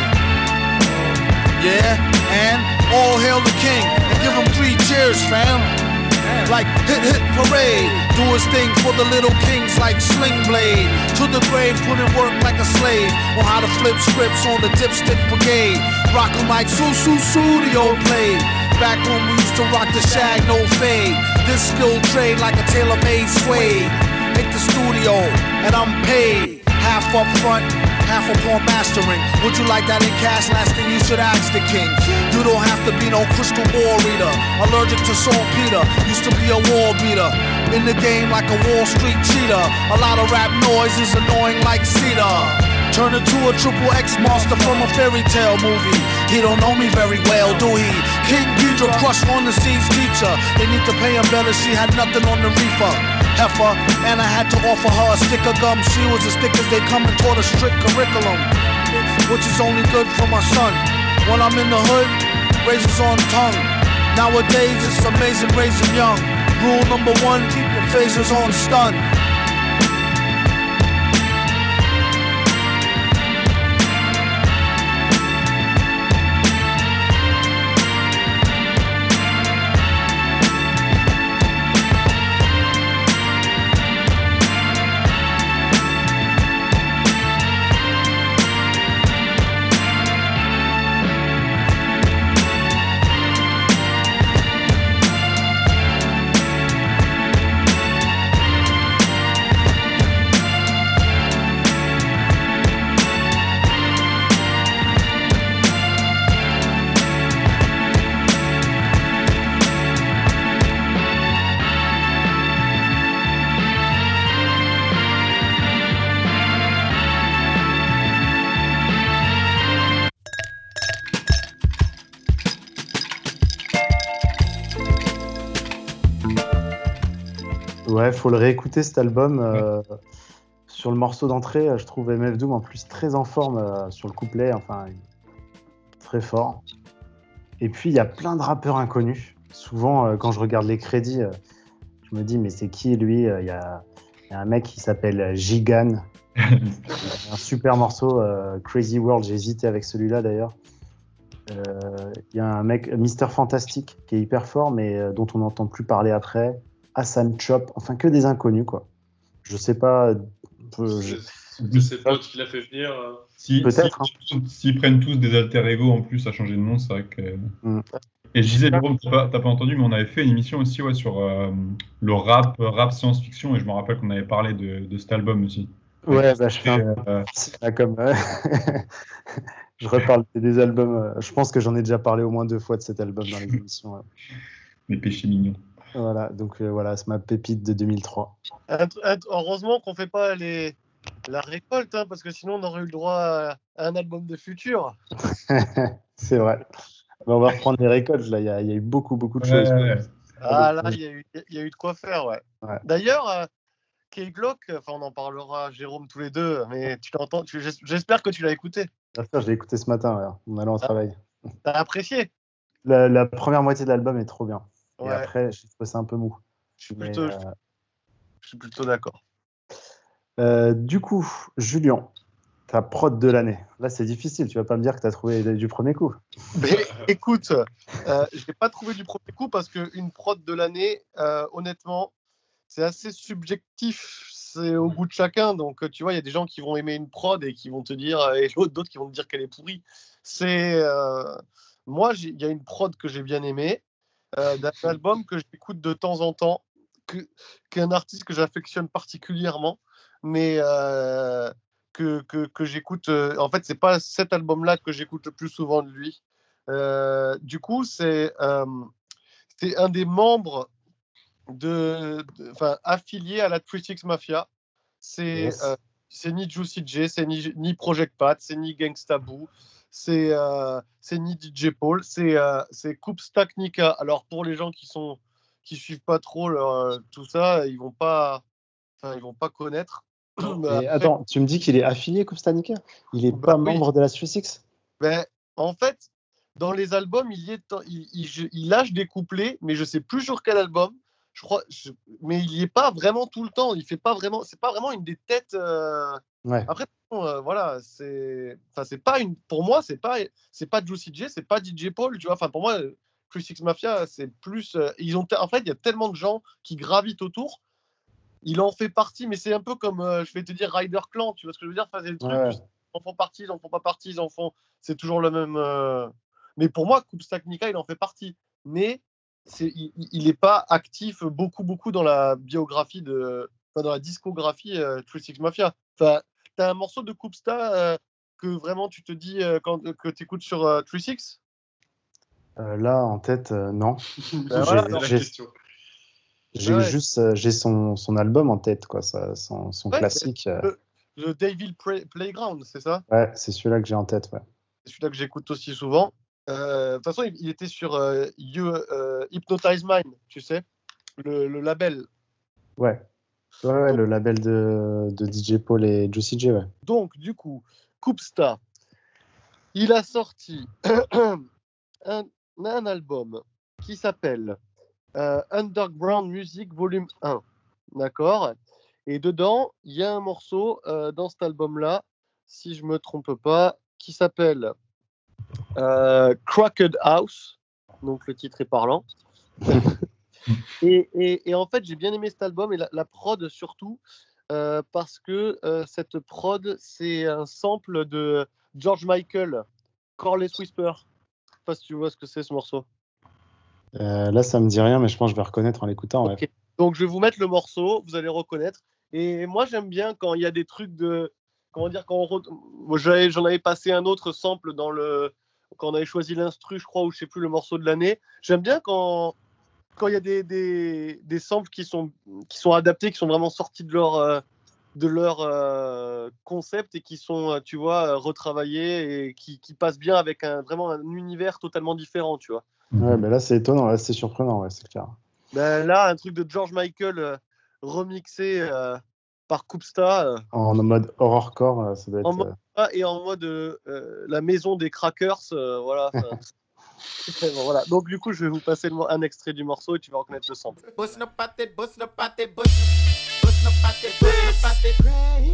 Speaker 10: Yeah, and all hail the king, and give him three cheers, fam. Like hit hit parade, do his thing for the little kings like Sling Blade. To the grave, put in work like a slave. On how to flip scripts on the dipstick brigade. Rock 'em like Su Su Studio played. Back when we used to rock the shag, no fade. This skill trade like a tailor-made suede. Hit the studio, and I'm paid. Half up front, half upon mastering. Would you like that in cash? Last thing you should ask the king. You don't have to be no crystal ball reader. Allergic to saltpeter, used to be a wall beater. In the game like a Wall Street cheater. A lot of rap noise is annoying like cedar. Turn into a triple X monster from a fairy tale movie. He don't know me very well, do he? King Ghidra crush on the seas teacher. They need to pay him better, she had nothing on the reefer. Heifer, and I had to offer her a stick of gum. She was as thick as they come and taught a strict curriculum, which is only good for my son. When I'm in the hood, razors on tongue. Nowadays it's amazing raising young. Rule number one, keep your phasers on stun.
Speaker 3: Ouais, faut le réécouter cet album. Euh, sur le morceau d'entrée, je trouve M F Doom en plus très en forme euh, sur le couplet, enfin très fort. Et puis il y a plein de rappeurs inconnus. Souvent, euh, quand je regarde les crédits, euh, je me dis mais c'est qui lui? Il y, y a un mec qui s'appelle Gigan. Un super morceau, euh, Crazy World. J'ai hésité avec celui-là d'ailleurs. Il euh, y a un mec, Mister Fantastic, qui est hyper fort, mais euh, dont on n'entend plus parler après. Hassan Chop, enfin que des inconnus, quoi. Je sais pas. Euh, je...
Speaker 6: C'est ses potes qui l'a fait venir. Euh...
Speaker 5: Si,
Speaker 3: Peut-être.
Speaker 5: S'ils hein. si, si prennent tous des alter ego en plus à changer de nom, c'est vrai que. Mm. Et je disais, Jérôme, t'as pas, t'as pas entendu, mais on avait fait une émission aussi ouais, sur euh, le rap, rap science-fiction, et je me rappelle qu'on avait parlé de, de cet album aussi.
Speaker 3: Ouais, bah, je fais un euh... là, comme. Euh... je reparle des albums. Euh... Je pense que j'en ai déjà parlé au moins deux fois de cet album dans les émissions. Ouais.
Speaker 5: Les péchés mignons.
Speaker 3: Voilà, donc euh, voilà, c'est ma pépite de deux mille trois.
Speaker 4: Heureusement qu'on fait pas les... la récolte, hein, parce que sinon on aurait eu le droit à un album de futur.
Speaker 3: C'est vrai. Mais on va reprendre les récoltes, là, il y, y a eu beaucoup, beaucoup de choses.
Speaker 5: Ouais.
Speaker 4: Ah là, il y, y, y a eu de quoi faire, ouais.
Speaker 3: ouais.
Speaker 4: D'ailleurs, euh, K-Glock, enfin on en parlera, Jérôme, tous les deux, mais tu l'entends, tu, j'espère que tu l'as écouté.
Speaker 3: Bien sûr, je l'ai écouté ce matin, ouais, en allant au
Speaker 4: ah,
Speaker 3: travail.
Speaker 4: T'as apprécié?
Speaker 3: la, la première moitié de l'album est trop bien.
Speaker 4: Ouais.
Speaker 3: Et après, je trouve ça un peu mou.
Speaker 4: Je suis plutôt,
Speaker 3: mais, euh...
Speaker 4: je suis plutôt d'accord.
Speaker 3: Euh, du coup, Julien, ta prod de l'année. Là, c'est difficile. Tu vas pas me dire que tu as trouvé du premier coup.
Speaker 4: Mais écoute, euh, je n'ai pas trouvé du premier coup parce qu'une prod de l'année, euh, honnêtement, c'est assez subjectif. C'est au goût de chacun. Donc, tu vois, il y a des gens qui vont aimer une prod et qui vont te dire, et d'autres qui vont te dire qu'elle est pourrie. C'est euh... moi, il y a une prod que j'ai bien aimée. Euh, d'un album que j'écoute de temps en temps, que, qu'un artiste que j'affectionne particulièrement, mais euh, que, que, que j'écoute. Euh, en fait, c'est pas cet album-là que j'écoute le plus souvent de lui. Euh, du coup, c'est, euh, c'est un des membres de, de, affiliés à la trois six Mafia. C'est, yes. euh, c'est ni Juicy J, c'est ni, ni Project Pat, c'est ni Gangsta Boo. C'est, euh, c'est ni D J Paul, c'est, euh, c'est Koopstack Nika. Alors pour les gens qui sont qui suivent pas trop leur, tout ça, ils vont pas, enfin ils vont pas connaître.
Speaker 3: Après, attends, tu me dis qu'il est affilié Koopstack Nika? Il est bah, pas oui. membre de la trois six?
Speaker 4: Ben en fait, dans les albums, il, y est, il, il, il lâche des couplets, mais je sais plus sur quel album. Je crois, je, mais il y est pas vraiment tout le temps. Il fait pas vraiment, c'est pas vraiment une des têtes. Euh...
Speaker 3: Ouais.
Speaker 4: Après, bon, euh, voilà, c'est, enfin, c'est pas une, pour moi, c'est pas, c'est pas Juicy J, c'est pas D J Paul, tu vois. Enfin, pour moi, trois six Mafia, c'est plus, euh, ils ont, en fait, il y a tellement de gens qui gravitent autour. Il en fait partie, mais c'est un peu comme, euh, je vais te dire, Rider Clan, tu vois ce que je veux dire. Enfin, c'est le truc,
Speaker 3: ouais.
Speaker 4: Ils en font partie, ils en font pas partie, ils en font, c'est toujours le même. Euh... Mais pour moi, Koopstack Nika, il en fait partie, mais c'est, il n'est pas actif beaucoup, beaucoup dans la biographie de, enfin, dans la discographie euh, trois six Mafia. Enfin, t'as un morceau de Koopsta euh, que vraiment tu te dis euh, quand, que tu écoutes sur euh, trois six
Speaker 3: euh, Là, en tête, euh, non.
Speaker 4: Ben voilà,
Speaker 3: j'ai j'ai, j'ai ouais. juste euh, j'ai son, son album en tête, quoi, ça, son, son ouais, classique.
Speaker 4: Le, le Devil Play, Playground, c'est ça?
Speaker 3: Ouais, c'est celui-là que j'ai en tête. Ouais.
Speaker 4: C'est celui-là que j'écoute aussi souvent. De euh, toute façon, il, il était sur euh, you, euh, Hypnotize Mind, tu sais, le, le label.
Speaker 3: Ouais. Ouais, ouais donc, le label de, de D J Paul et Juicy J, ouais.
Speaker 4: Donc, du coup, Koopsta, il a sorti un, un album qui s'appelle euh, Underground Music Volume un. D'accord? Et dedans, il y a un morceau euh, dans cet album-là, si je ne me trompe pas, qui s'appelle euh, Cracked House. Donc, le titre est parlant. Et, et, et en fait, j'ai bien aimé cet album et la, la prod surtout euh, parce que euh, cette prod, c'est un sample de George Michael, Careless Whisper. Je sais pas si tu vois ce que c'est ce morceau.
Speaker 3: Euh, là, ça me dit rien, mais je pense que je vais reconnaître en l'écoutant.
Speaker 4: Okay. Ouais. Donc, je vais vous mettre le morceau, vous allez reconnaître. Et moi, j'aime bien quand il y a des trucs de. Comment dire quand on re... Moi, j'avais, j'en avais passé un autre sample dans le. Quand on avait choisi l'instru, je crois, ou je sais plus, le morceau de l'année. J'aime bien quand. Quand il y a des, des, des samples qui sont, qui sont adaptés, qui sont vraiment sortis de leur, euh, de leur euh, concept et qui sont, tu vois, retravaillés et qui, qui passent bien avec un, vraiment un univers totalement différent, tu vois.
Speaker 3: Ouais, mais là, c'est étonnant, là, c'est surprenant, ouais, c'est clair.
Speaker 4: Ben, là, un truc de George Michael, euh, remixé euh, par Koopsta. Euh,
Speaker 3: En mode horrorcore, euh, ça doit être.
Speaker 4: en mode,
Speaker 3: euh,
Speaker 4: ah, et en mode euh, euh, la maison des crackers. euh, voilà. enfin, bon, voilà. Donc du coup, je vais vous passer le mo- un extrait du morceau et tu vas reconnaître le sample.
Speaker 10: Bustin' up out that, bustin' up out that, bustin' bustin' up out that, bustin' up out that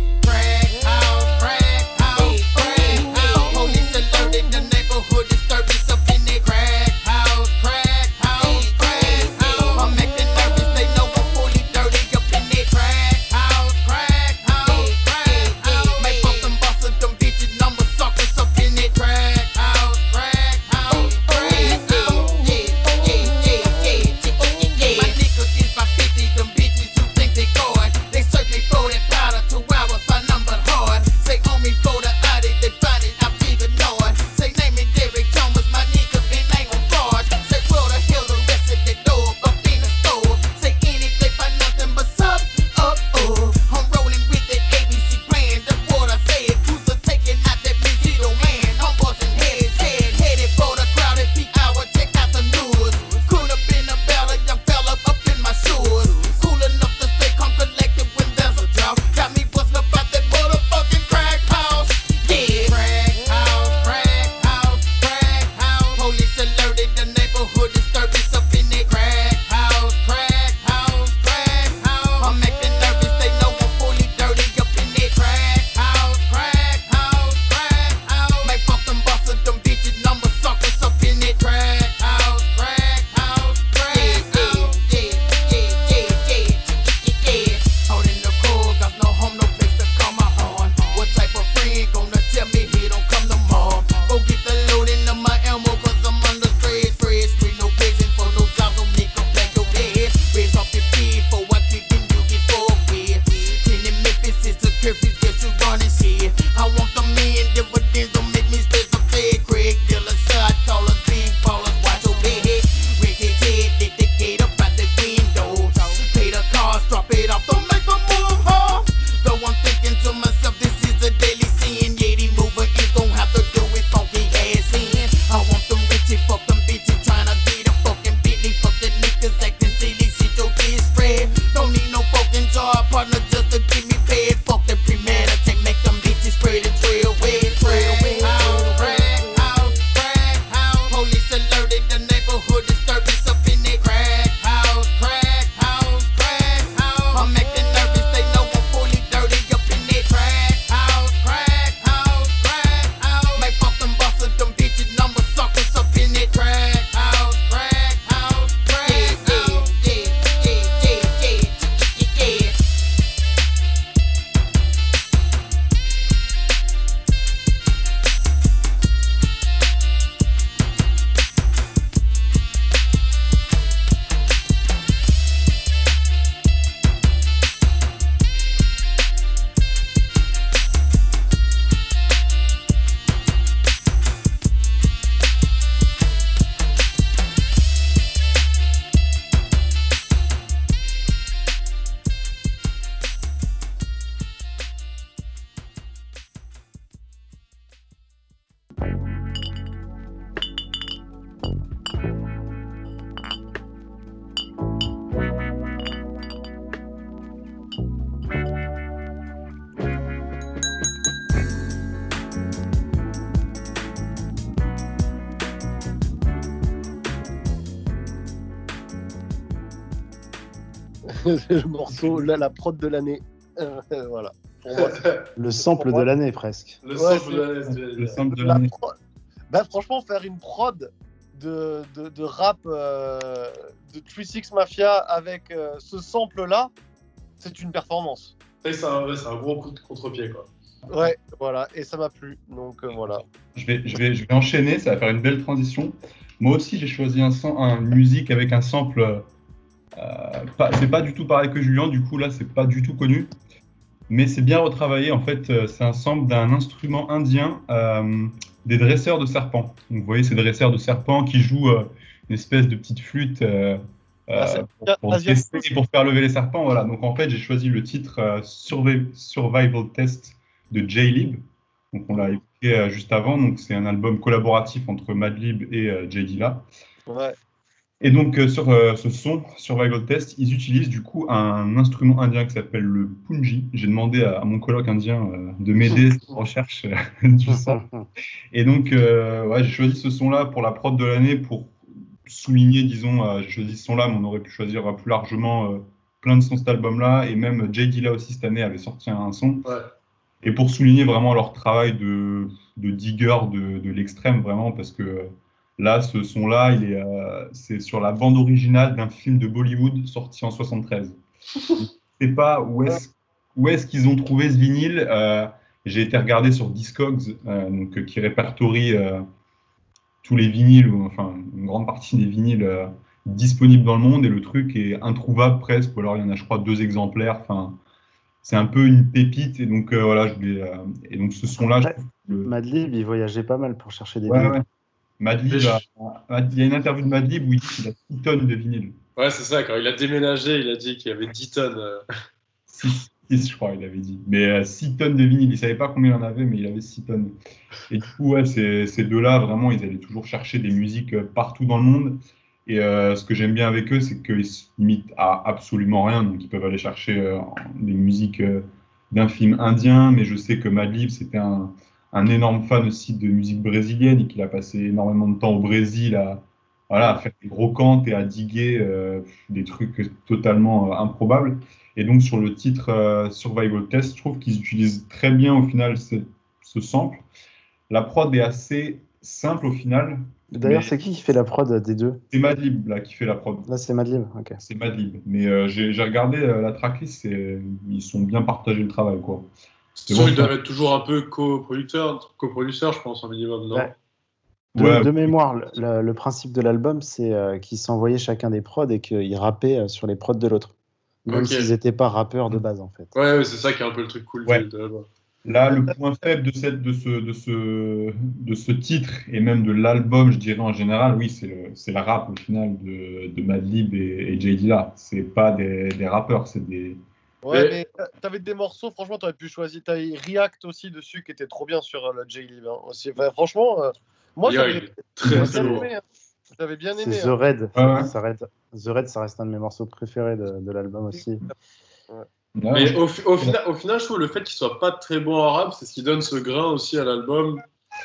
Speaker 10: crack house, crack house, crack house. Police alerted, the neighborhood disturbance up in that crack house, crack house, crack house. I'm acting nervous, they know I'm fully dirty up in that crack house, crack house, crack house. Make fuck them bosses, them bitches, number suckers up in that crack house, crack house, crack house. Yeah, yeah, yeah, yeah, yeah, yeah. My niggas is by fifty, them bitches who think they God. They search me for that powder, two hours, I numbered hard. Say on me for the audit, they find it, I'm big ignored. Say name me Derek Thomas, my nigga, and ain't on fraud. Say well the hell the rest of the dog up in the store. Say anything for nothing but sub up, oh. I'm rolling with that A B C brand, that's what I said. Who's a taking out that Benzito man? I'm busting heads, head, headed for the crowded peak hour, check out the news. Could have been a bella, young fella up in my shoes. Cool enough to stay calm, collected when there's a drought. Got me busting up out that motherfucking crack house. Yeah, crack house, crack house, crack house. Police alerted, the neighborhood disturbance up in that crack house, crack house, crack house. I'm acting nervous, they know I'm fully dirty up in that crack house, crack house, crack house. Make fuck them bosses, them bitches, number suckers up in that crack house, crack house, crack house. Yeah, yeah, yeah, yeah, yeah, yeah. Holding the cool, got no home, no place to call my horn. What type of friend gonna tell me he don't come no more? Go get the load into my ammo, cause I'm under stress, stress. Free no prison for no jobs, no nigga black your head. Raise off your feet for what you can you get for with. Ten in Memphis is the curfew, guess you running shit. I want the million dividends, don't make me stress up fed. Craig dealer, shot callers, big ballers, watch your head. Rick his head, lift the gate up out the window. Pay the cars, drop it off, don't make a move, huh? Though I'm thinking to myself, this is a daily sin. Yeah, the mover is gon' have to do it funky ass in. I want them richie, fuck them bitches, tryna get a fucking Bentley. Fuck the niggas acting silly, shit your bitch spread. Don't need no fucking job partner just to give me paid. Fuck the premeditate, make them bitches spread and trail away, trail away. Crack house, crack house. Police alerted, the neighborhood disturbance up in that crack house, crack house, crack house. I'm acting nervous, they know I'm fully dirty up in that crack house, crack house, crack house. Make fuck them bosses, them bitches, number suckers up in that crack house, crack house, crack house. Yeah, yeah, yeah, yeah, yeah, yeah, yeah.
Speaker 4: Le morceau, là, la prod de l'année. Euh, voilà. Pour moi, c'est-
Speaker 3: Le sample
Speaker 4: pour
Speaker 3: de
Speaker 4: moi-
Speaker 3: l'année presque.
Speaker 6: Le
Speaker 4: Ouais,
Speaker 6: sample
Speaker 4: c'est-
Speaker 6: de l'année, c'est-
Speaker 5: Le sample de
Speaker 4: La
Speaker 5: l'année.
Speaker 4: pro- Bah, franchement, faire une prod de, de, de rap euh, de trois six Mafia avec euh, ce sample-là, c'est une performance.
Speaker 6: Et c'est un, ouais, c'est un gros coup de contre-pied, quoi.
Speaker 4: Ouais, voilà, et ça m'a plu. Donc euh, voilà.
Speaker 5: Je vais, je, vais, je vais enchaîner, ça va faire une belle transition. Moi aussi, j'ai choisi un, sam- un- une musique avec un sample. Euh, pas- c'est pas du tout pareil que Julien, du coup, là, c'est pas du tout connu. Mais c'est bien retravaillé. En fait, euh, c'est un sample d'un instrument indien, euh, des dresseurs de serpents. Donc, vous voyez, ces dresseurs de serpents qui jouent euh, une espèce de petite flûte euh,
Speaker 4: Ah, c'est-
Speaker 5: euh, pour, pour
Speaker 4: asiatique.
Speaker 5: tester et pour faire lever les serpents. Voilà. Donc, en fait, j'ai choisi le titre euh, Survi- Survival Test de J-Lib. Donc, on l'a écouté euh, juste avant. Donc, c'est un album collaboratif entre Madlib et euh, J Dilla.
Speaker 4: Ouais.
Speaker 5: Et donc, euh, sur euh, ce son, Survival Test, ils utilisent du coup un instrument indien qui s'appelle le punji. J'ai demandé à, à mon coloc indien euh, de m'aider sur la recherche euh, du son. Et donc, euh, ouais, j'ai choisi ce son-là pour la prod de l'année pour souligner, disons, euh, j'ai choisi ce son-là, mais on aurait pu choisir euh, plus largement euh, plein de sons de cet album-là. Et même Jay Dilla aussi, cette année, avait sorti un son.
Speaker 6: Ouais.
Speaker 5: Et pour souligner vraiment leur travail de, de digger de, de l'extrême, vraiment, parce que là, ce son-là, il est, euh, c'est sur la bande originale d'un film de Bollywood sorti en soixante-treize. Je ne sais pas où est-ce, où est-ce qu'ils ont trouvé ce vinyle. Euh, j'ai été regarder sur Discogs, euh, donc, qui répertorie euh, tous les vinyles, ou enfin une grande partie des vinyles euh, disponibles dans le monde, et le truc est introuvable presque, ou alors il y en a, je crois, deux exemplaires. Enfin, c'est un peu une pépite, et donc euh, voilà, je voulais, euh, et donc ce son-là, je trouve que le...
Speaker 3: Madlib, il voyageait pas mal pour chercher des
Speaker 5: ouais,
Speaker 3: vinyles.
Speaker 5: ouais. Madlib, a... il y a une interview de Madlib où il dit qu'il a six tonnes de vinyle.
Speaker 6: Ouais, c'est ça, quand il a déménagé, il a dit qu'il y avait dix tonnes. Euh...
Speaker 5: six, je crois, il avait dit. Mais euh, six tonnes de vinyle, il savait pas combien il en avait, mais il avait six tonnes. Et du coup, ouais, ces, ces deux-là, vraiment, ils allaient toujours chercher des musiques euh, partout dans le monde. Et euh, ce que j'aime bien avec eux, c'est qu'ils se limitent à absolument rien. Donc, ils peuvent aller chercher euh, des musiques euh, d'un film indien, mais je sais que Madlib, c'était un, un énorme fan aussi de musique brésilienne et qu'il a passé énormément de temps au Brésil à, voilà, à faire des gros cantes et à diguer euh, des trucs totalement euh, improbables. Et donc, sur le titre euh, Survival Test, je trouve qu'ils utilisent très bien au final ce, ce sample. La prod est assez simple au final.
Speaker 3: D'ailleurs, c'est qui qui fait la prod des deux?
Speaker 5: C'est Madlib là qui fait la prod.
Speaker 3: Là, c'est Madlib, ok.
Speaker 5: C'est Madlib. Mais euh, j'ai, j'ai regardé euh, la tracklist, et ils sont bien partagés le travail, quoi.
Speaker 6: C'est sûr, ils doivent être toujours un peu coproducteurs, coproducteurs, je pense, un minimum, non?
Speaker 3: Ouais. De,
Speaker 5: Ouais.
Speaker 3: de mémoire, le, le principe de l'album, c'est euh, qu'ils s'envoyaient chacun des prods et qu'ils rappaient euh, sur les prods de l'autre. Même
Speaker 6: Ok.
Speaker 3: s'ils n'étaient pas rappeurs de base, en fait.
Speaker 6: Ouais, ouais, c'est ça qui est un peu le truc cool
Speaker 5: Ouais.
Speaker 6: de, de l'album.
Speaker 5: Là, le point faible de, cette, de, ce, de, ce, de ce titre, et même de l'album, je dirais en général, oui, c'est le, c'est le rap au final de, de Madlib et, et Jay Dilla. C'est pas des, des rappeurs, c'est des.
Speaker 4: Ouais, mais t'avais des morceaux, franchement, t'aurais pu choisir. T'avais React aussi dessus qui était trop bien sur euh, le J-Lib. Hein, aussi. Enfin, franchement, euh, moi,
Speaker 6: Yeah,
Speaker 4: j'avais
Speaker 6: il est très,
Speaker 4: j'avais
Speaker 6: très
Speaker 4: bien
Speaker 6: lourd.
Speaker 4: aimé. Hein. J'avais bien
Speaker 3: C'est
Speaker 4: aimé.
Speaker 3: The
Speaker 4: hein.
Speaker 3: Red.
Speaker 5: Ouais, ouais.
Speaker 3: Ça reste- The Red, ça reste un de mes morceaux préférés de, de l'album aussi.
Speaker 5: Ouais.
Speaker 6: Mais au, fi- au, final, au final, je trouve le fait qu'il soit pas très bon en rap, c'est ce qui donne ce grain aussi à l'album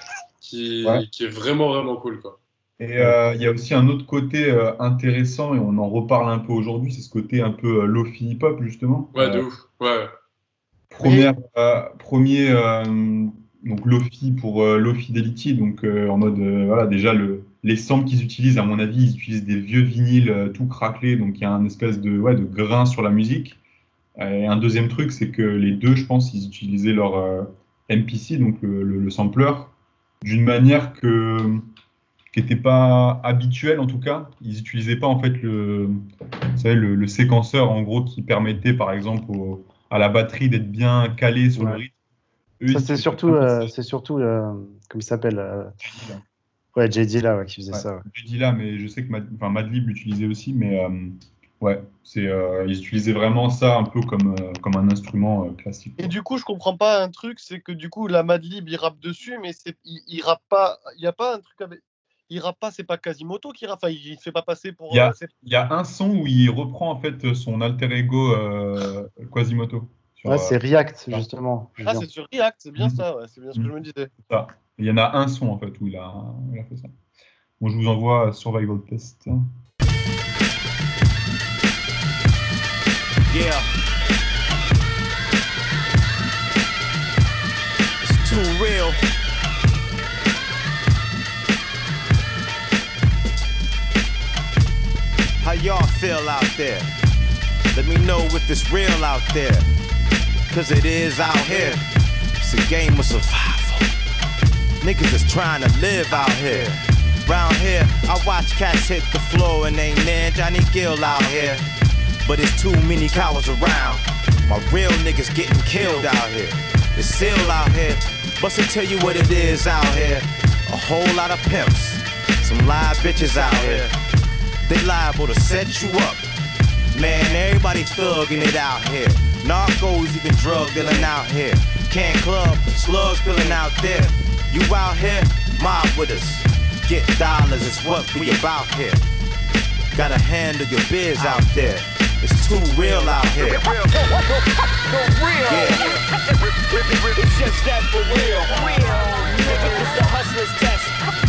Speaker 6: qui,
Speaker 5: Ouais.
Speaker 6: qui est vraiment, vraiment cool, quoi.
Speaker 5: Et euh, il y a aussi un autre côté euh, intéressant, et on en reparle un peu aujourd'hui, c'est ce côté un peu euh, lofi hip-hop, justement.
Speaker 6: Ouais, de
Speaker 5: Euh,
Speaker 6: ouf. Ouais.
Speaker 5: Première, euh, premier euh, donc Lofi pour euh, Low Fidelity, donc euh, en mode euh, voilà, déjà le, les samples qu'ils utilisent, à mon avis, ils utilisent des vieux vinyles euh, tout craquelés, donc il y a un espèce de, ouais, de grain sur la musique. Et un deuxième truc, c'est que les deux, je pense, ils utilisaient leur euh, M P C, donc le, le, le sampler, d'une manière que qui n'était pas habituelle en tout cas. Ils n'utilisaient pas en fait le, vous savez, le, le séquenceur en gros qui permettait par exemple au, à la batterie d'être bien calé sur
Speaker 3: Ouais.
Speaker 5: le rythme. Eux,
Speaker 3: Ça,
Speaker 5: ils
Speaker 3: c'est
Speaker 5: utilisaient
Speaker 3: surtout,
Speaker 5: pas
Speaker 3: euh,
Speaker 5: ça.
Speaker 3: c'est surtout euh, comment il s'appelle euh, Ouais, J D là, ouais, qui faisait
Speaker 5: Ouais,
Speaker 3: ça. Ouais.
Speaker 5: je dis là, mais je sais que Mad, enfin, Madlib l'utilisait aussi, mais euh, ouais, c'est, euh, ils utilisaient vraiment ça un peu comme, euh, comme un instrument euh, classique.
Speaker 4: Et du coup, je comprends pas un truc, c'est que du coup, la Madlib, il rappe dessus, mais c'est, il, il rappe pas. Il y a pas un truc avec. Il rappe pas, c'est pas Quasimoto qui rappe. Enfin, il, il se fait pas passer pour.
Speaker 5: Il y, a,
Speaker 4: euh, c'est-
Speaker 5: il y a un son où il reprend en fait son alter ego euh, Quasimoto. Sur,
Speaker 3: Ouais, c'est
Speaker 5: euh,
Speaker 3: React, justement.
Speaker 4: Ah,
Speaker 3: Julien.
Speaker 4: c'est sur React, c'est bien
Speaker 5: Mhm.
Speaker 4: ça. Ouais, c'est bien ce que je me disais.
Speaker 5: ça. Il y en a un son en fait où il a, il a fait ça. Bon, je vous envoie Survival Test.
Speaker 15: Yeah. It's too real. How y'all feel out there? Let me know if it's real out there. Cause it is out here. It's a game of survival. Niggas is trying to live out here. Round here, I watch cats hit the floor and ain't near Johnny Gill out here. But it's too many cowards around. My real niggas getting killed out here. It's still out here. But to tell you what it is out here, a whole lot of pimps, some live bitches out here. They liable to set you up. Man, everybody thugging it out here. Narcos, even drug dealing out here. Can club, slugs spilling out there. You out here, mob with us. Get dollars is what we about here.
Speaker 9: Gotta handle your biz out there. It's too real out here. Yeah.
Speaker 10: It's just that for real. Real. It's the hustler's test.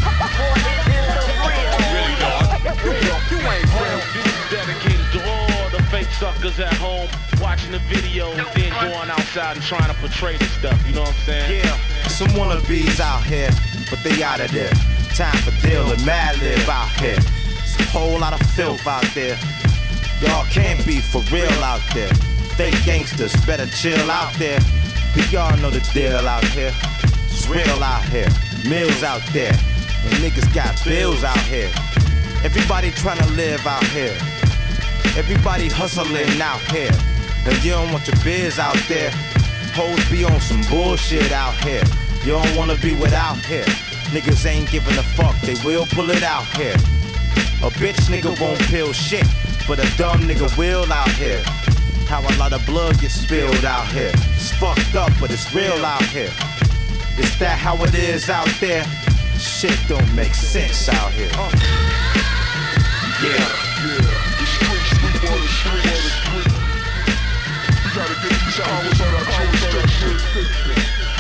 Speaker 10: Really, dog? Real. You ain't real. This is dedicated to all the fake suckers at home watching the video and then going outside and trying to portray this stuff. You know what I'm saying?
Speaker 9: Yeah. Some wannabes out here, but they out of there. Time for deal and mad live out here. It's a whole lot of filth out there. Y'all can't be for real out there. Fake gangsters better chill out there. But y'all know the deal out here. It's real out here. Mills out there. And niggas got bills out here. Everybody trying to live out here. Everybody hustling out here. And you don't want your biz out there. Hoes be on some bullshit out here. You don't wanna be without here. Niggas ain't giving a fuck, they will pull it out here. A bitch nigga won't peel shit, but a dumb nigga will out here. How a lot of blood gets spilled out here. It's fucked up, but it's real out here. Is that how it is out there? Shit don't make sense out here. Uh. Yeah.
Speaker 10: Yeah. The streets, we on the streets. We gotta get these hours on our jurisdiction.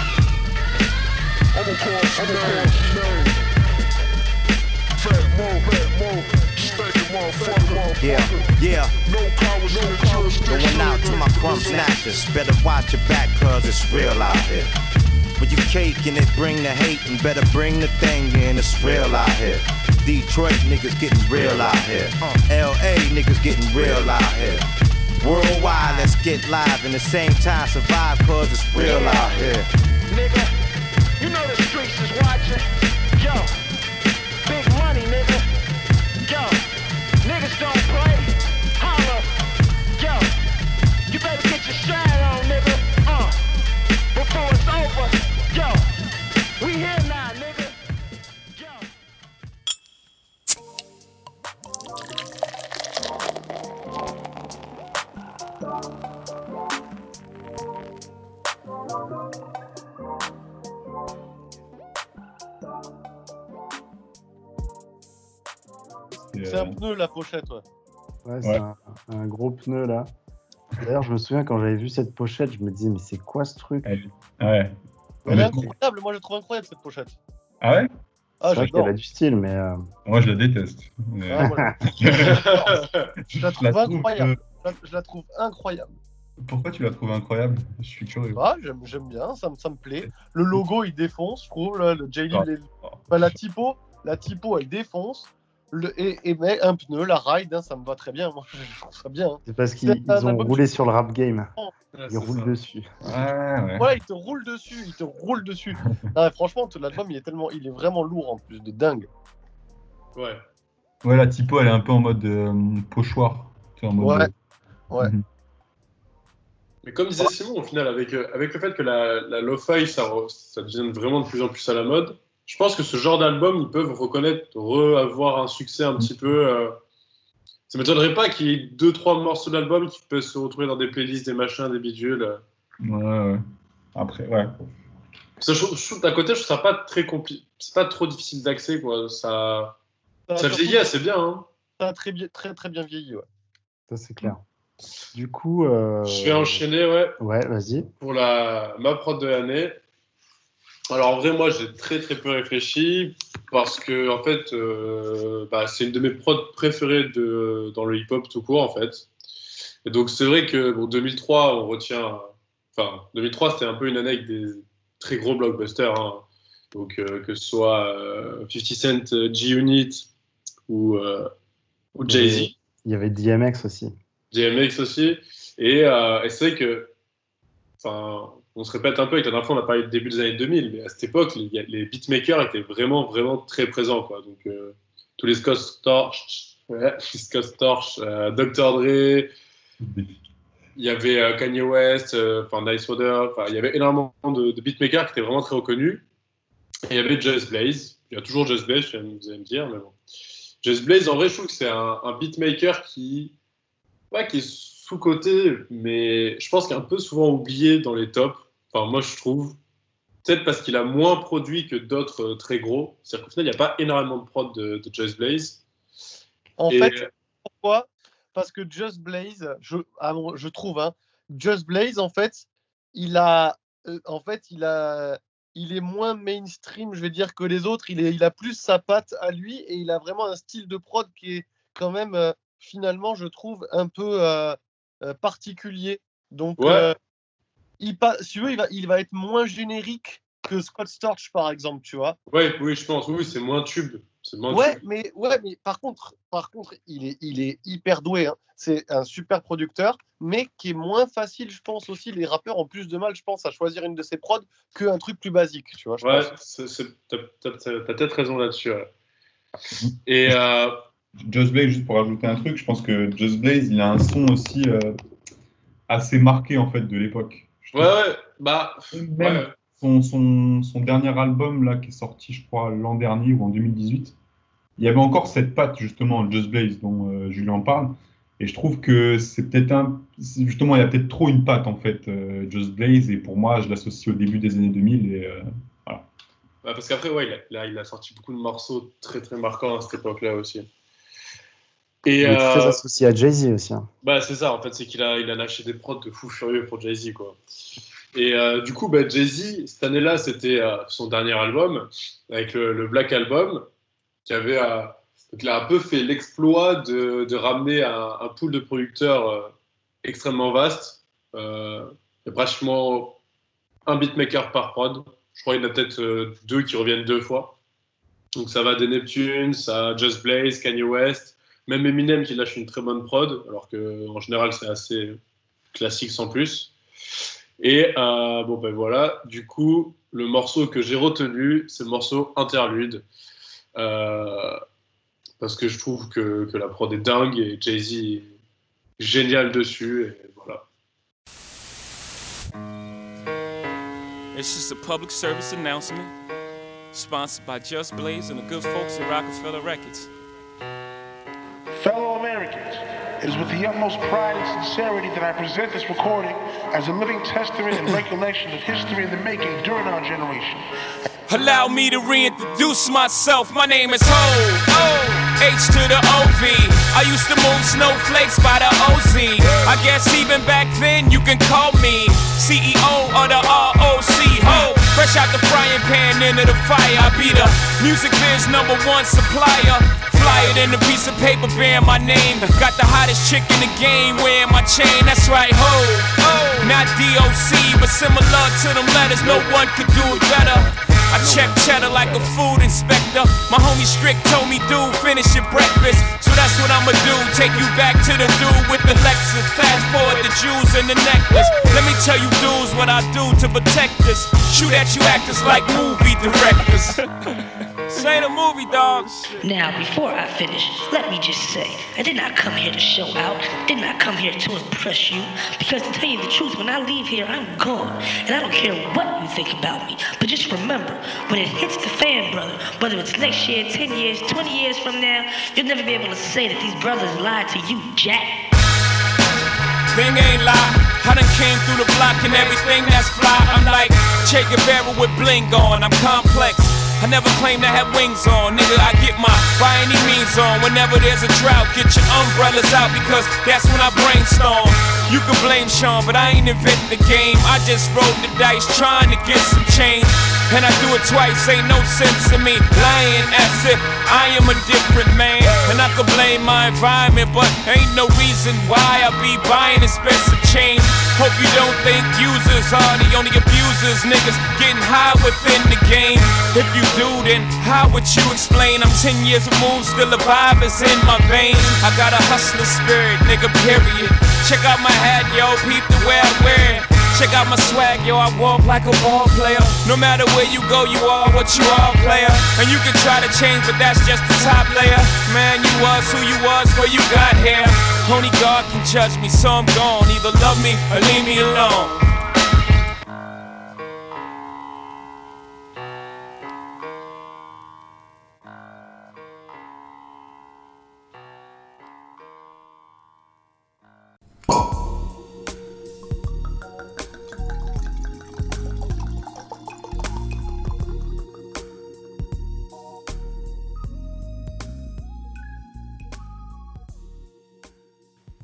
Speaker 10: I'ma call some names. Fat Mo, Fat Mo, stinking motherfucker.
Speaker 9: Yeah, yeah.
Speaker 10: No powers in the jurisdiction.
Speaker 9: Going out to my crumb snatchers. Better watch your back, cause it's real out here. When you caking it, bring the hate and better bring the thing in. It's real out here. Detroit niggas getting real out here. L A niggas getting real out here. Worldwide, let's get live and the same time survive cause it's real out here.
Speaker 10: Nigga, you know the streets is watching. Yo, big money, nigga. Yo, niggas don't play. Holla. Yo, you better get your shine on, nigga. Uh, before it's over. Yo, we here now, nigga.
Speaker 4: C'est un pneu la pochette, ouais.
Speaker 3: Ouais, c'est ouais. Un, un gros pneu là. D'ailleurs, je me souviens quand j'avais vu cette pochette, je me disais, mais c'est quoi ce truc?
Speaker 5: Ouais.
Speaker 4: Elle est incroyable, moi je la trouve incroyable cette pochette.
Speaker 5: Ah ouais?
Speaker 3: Ah, c'est vrai qu'elle a du style, mais. Euh...
Speaker 5: Moi je la déteste. Mais...
Speaker 4: Ah, moi, je la trouve incroyable. Que... Je la trouve incroyable.
Speaker 5: Pourquoi tu la trouves incroyable? Je suis curieux.
Speaker 4: Ah, j'aime, j'aime bien, ça, ça me plaît. Le logo il défonce, je trouve. Là, le J-Lib, les... enfin, la typo, la typo elle défonce. Le, et, et mais un pneu, la ride, hein, ça me va très bien. Moi, je trouve ça bien. Hein.
Speaker 3: C'est parce qu'ils ils ont roulé sur le rap game. Ouais, ils roulent ça. Dessus.
Speaker 5: Ouais, ouais.
Speaker 4: Voilà, ils te roulent dessus, ils te roulent dessus. Non, franchement, l'album, il est tellement, il est vraiment lourd en plus, de dingue.
Speaker 6: Ouais.
Speaker 5: Ouais, la typo, elle est un peu en mode euh, pochoir. En mode
Speaker 4: ouais.
Speaker 5: De...
Speaker 4: Ouais. Mm-hmm.
Speaker 6: Mais comme disait Simon, au final, avec, euh, avec le fait que la, la lo-fi, ça, ça devient vraiment de plus en plus à la mode. Je pense que ce genre d'album, ils peuvent reconnaître, re-avoir un succès un petit peu. Euh... Ça ne m'étonnerait pas qu'il y ait deux, trois morceaux d'album qui peuvent se retrouver dans des playlists, des machins, des bidules.
Speaker 5: Ouais, ouais. Après, ouais.
Speaker 6: Ça, je, je, d'un côté, je trouve ça pas très compliqué. C'est pas trop difficile d'accès, quoi. Ça, ça, ça vieillit assez bien. Hein.
Speaker 4: Ça a très, bien, très, très bien vieilli, ouais.
Speaker 3: Ça, c'est clair. Du coup. Euh...
Speaker 6: Je vais enchaîner, ouais.
Speaker 3: Ouais, vas-y.
Speaker 6: Pour la... ma prod de l'année. Alors en vrai, moi j'ai très très peu réfléchi parce que en fait, euh, bah, c'est une de mes prods préférées de, dans le hip-hop tout court en fait. Et donc c'est vrai que bon, deux mille trois, on retient, enfin deux mille trois c'était un peu une année avec des très gros blockbusters, hein. Donc euh, que ce soit euh, fifty Cent, G-Unit ou, euh, ou Jay-Z.
Speaker 3: Il y avait D M X aussi.
Speaker 6: D M X aussi. Et, euh, et c'est vrai que, enfin. On se répète un peu, avec la dernière fois on a parlé du début des années deux mille, mais à cette époque, les, les beatmakers étaient vraiment, vraiment très présents, quoi. Donc, euh, tous les Scott Storch, ouais, Scott Storch, euh, docteur Dre, il y avait euh, Kanye West, enfin euh, Nice Water, il y avait énormément de, de beatmakers qui étaient vraiment très reconnus. Et il y avait Just Blaze, il y a toujours Just Blaze, vous allez me dire, mais bon. Just Blaze, en vrai, je trouve que c'est un, un beatmaker qui, ouais, qui est sous-coté, mais je pense qu'il est un peu souvent oublié dans les tops. Enfin, moi, je trouve, peut-être parce qu'il a moins produit que d'autres euh, très gros. C'est-à-dire qu'au final, il n'y a pas énormément de prod de, de Just Blaze.
Speaker 4: En
Speaker 6: Et...
Speaker 4: fait, pourquoi? Parce que Just Blaze, je, ah bon, je trouve, hein, Just Blaze, en fait, il a, euh, en fait, il a, il est moins mainstream, je vais dire, que les autres. Il, est, il a plus sa patte à lui et il a vraiment un style de prod qui est quand même, euh, finalement, je trouve, un peu euh, euh, particulier. Donc,
Speaker 6: Ouais.
Speaker 4: euh, il, pa- si tu veux, il va, il va être moins générique que Scott Storch, par exemple, tu vois.
Speaker 6: Ouais, oui, je pense. Oui, c'est moins tube. C'est moins
Speaker 4: Ouais,
Speaker 6: tube.
Speaker 4: mais, ouais, mais par contre, par contre il, est, il est hyper doué. Hein. C'est un super producteur, mais qui est moins facile, je pense aussi. Les rappeurs ont plus de mal, je pense, à choisir une de ses prods qu'un truc plus basique, tu vois. Je
Speaker 6: Ouais,
Speaker 4: pense.
Speaker 6: c'est, c'est, t'as, t'as, t'as, t'as peut-être raison là-dessus. Ouais. Et euh,
Speaker 5: Just Blaze, juste pour rajouter un truc, je pense que Just Blaze, il a un son aussi euh, assez marqué en fait de l'époque. Je
Speaker 6: ouais,
Speaker 5: trouve.
Speaker 6: ouais, bah,
Speaker 5: Même
Speaker 6: ouais.
Speaker 5: son, son, son dernier album là qui est sorti, je crois, l'an dernier ou en deux mille dix-huit, il y avait encore cette patte justement Just Blaze dont euh, Julien parle. Et je trouve que c'est peut-être un, c'est justement, il y a peut-être trop une patte en fait, euh, Just Blaze. Et pour moi, je l'associe au début des années deux mille. Et euh, voilà.
Speaker 6: Ouais, parce qu'après, ouais, il a, là, il a sorti beaucoup de morceaux très très marquants à cette époque-là aussi. Et,
Speaker 3: Il est
Speaker 6: euh,
Speaker 3: très associé à Jay-Z aussi. Hein.
Speaker 6: Bah, c'est ça, en fait, c'est qu'il a, il a lâché des prods de fou furieux pour Jay-Z, quoi. Et euh, du coup, bah, Jay-Z, cette année-là, c'était euh, son dernier album, avec le, le Black Album, qui avait euh, donc, il a un peu fait l'exploit de, de ramener un, un pool de producteurs euh, extrêmement vaste. Euh, il y a pratiquement un beatmaker par prod. Je crois qu'il y en a peut-être euh, deux qui reviennent deux fois. Donc ça va des Neptunes à Just Blaze, Kanye West, même Eminem qui lâche une très bonne prod, alors qu'en général c'est assez classique sans plus. Et euh, bon ben voilà, du coup le morceau que j'ai retenu, c'est le morceau Interlude, euh, parce que je trouve que, que la prod est dingue et Jay-Z est génial dessus, et voilà.
Speaker 17: It's just a public service announcement, sponsored by Just Blaze and the good folks at Rockefeller Records.
Speaker 18: Fellow Americans, it is with the utmost pride and sincerity that I present this recording as a living testament and recollection of history in the making during our generation.
Speaker 17: Allow me to reintroduce myself. My name is Ho, H to the O V. I used to move snowflakes by the O Z. I guess even back then you can call me C E O of the R O C. Ho, fresh out the frying pan into the fire. I be the music biz number one supplier. Flyer than a piece of paper bearing my name. Got the hottest chick in the game wearing my chain. That's right, ho. Not D O C, but similar to them letters. No one could do it better. I check cheddar like a food inspector. My homie Strick told me, dude, finish your breakfast. So that's what I'ma do, take you back to the dude with the Lexus. Fast forward the jewels and the necklace. Let me tell you dudes what I do to protect us. Shoot at you actors like movie directors. This ain't a movie, dog.
Speaker 19: Now, before I finish, let me just say, I did not come here to show out, did not come here to impress you, because to tell you the truth, when I leave here, I'm gone, and I don't care what you think about me, but just remember, when it hits the fan, brother, whether it's next year, ten years, twenty years from now, you'll never be able to say that these brothers lied to you, Jack.
Speaker 17: Thing ain't lie, I done came through the block and everything that's fly. I'm like Che Guevara with bling on, I'm complex. I never claimed I had wings on, nigga, I get my by any means on. Whenever there's a drought, get your umbrellas out because that's when I brainstorm. You can blame Sean, but I ain't inventing the game. I just rolled the dice trying to get some change. And I do it twice, ain't no sense in me lying as if I am a different man. And I could blame my environment, but ain't no reason why I be buying expensive chains. Hope you don't think users are the only abusers. Niggas getting high within the game. If you do, then how would you explain? I'm ten years removed, still the vibe is in my veins. I got a hustler spirit, nigga, period. Check out my hat, yo, peep the way I wear it. Check out my swag, yo, I walk like a ball player. No matter where you go, you are what you are, player. And you can try to change, but that's just the top layer. Man, you was who you was before you got here. Only God can judge me, so I'm gone. Either love me or leave me alone.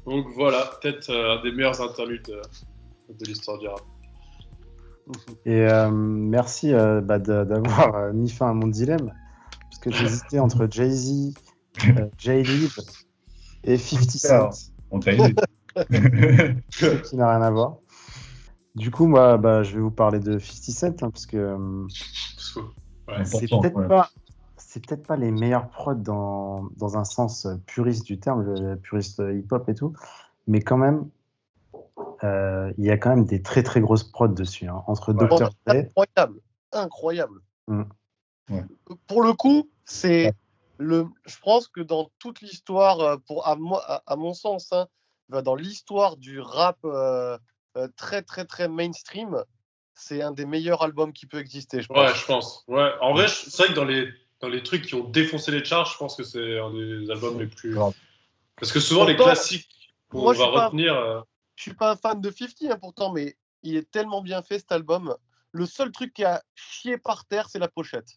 Speaker 6: Donc voilà, peut-être euh, un des meilleurs interludes de, de l'histoire du rap.
Speaker 3: Et euh, merci euh, bah, de, d'avoir euh, mis fin à mon dilemme, parce que j'hésitais entre Jay-Z, euh, J-Lib et fifty Cent.
Speaker 5: On t'a aidé.
Speaker 3: Qui n'a rien à voir. Du coup, moi, bah, je vais vous parler de fifty Cent, hein, parce que euh,
Speaker 6: ouais,
Speaker 3: c'est,
Speaker 5: important,
Speaker 3: peut-être
Speaker 5: ouais.
Speaker 3: pas, c'est peut-être pas les meilleurs prods dans, dans un sens puriste du terme, le puriste hip-hop et tout, mais quand même, euh, il y a quand même des très très grosses prods dessus, hein, entre
Speaker 4: Ouais.
Speaker 3: docteur Dre.
Speaker 4: Incroyable, incroyable.
Speaker 3: Mm.
Speaker 5: Ouais.
Speaker 4: Pour le coup, c'est le. Je pense que dans toute l'histoire, euh, pour à, moi, à, à mon sens, hein, bah, dans l'histoire du rap euh, euh, très très très mainstream, c'est un des meilleurs albums qui peut exister. Je pense.
Speaker 6: Ouais, je pense. Ouais. En vrai, je- c'est vrai que dans les, dans les trucs qui ont défoncé les charts, je pense que c'est un des albums les plus. Parce que souvent, les
Speaker 4: Pourtant,
Speaker 6: classiques qu'on
Speaker 4: moi, je
Speaker 6: va
Speaker 4: suis pas-
Speaker 6: retenir. euh,
Speaker 4: Je suis pas un fan de cinquante hein, pourtant, mais il est tellement bien fait cet album. Le seul truc qui a chié par terre, c'est la pochette.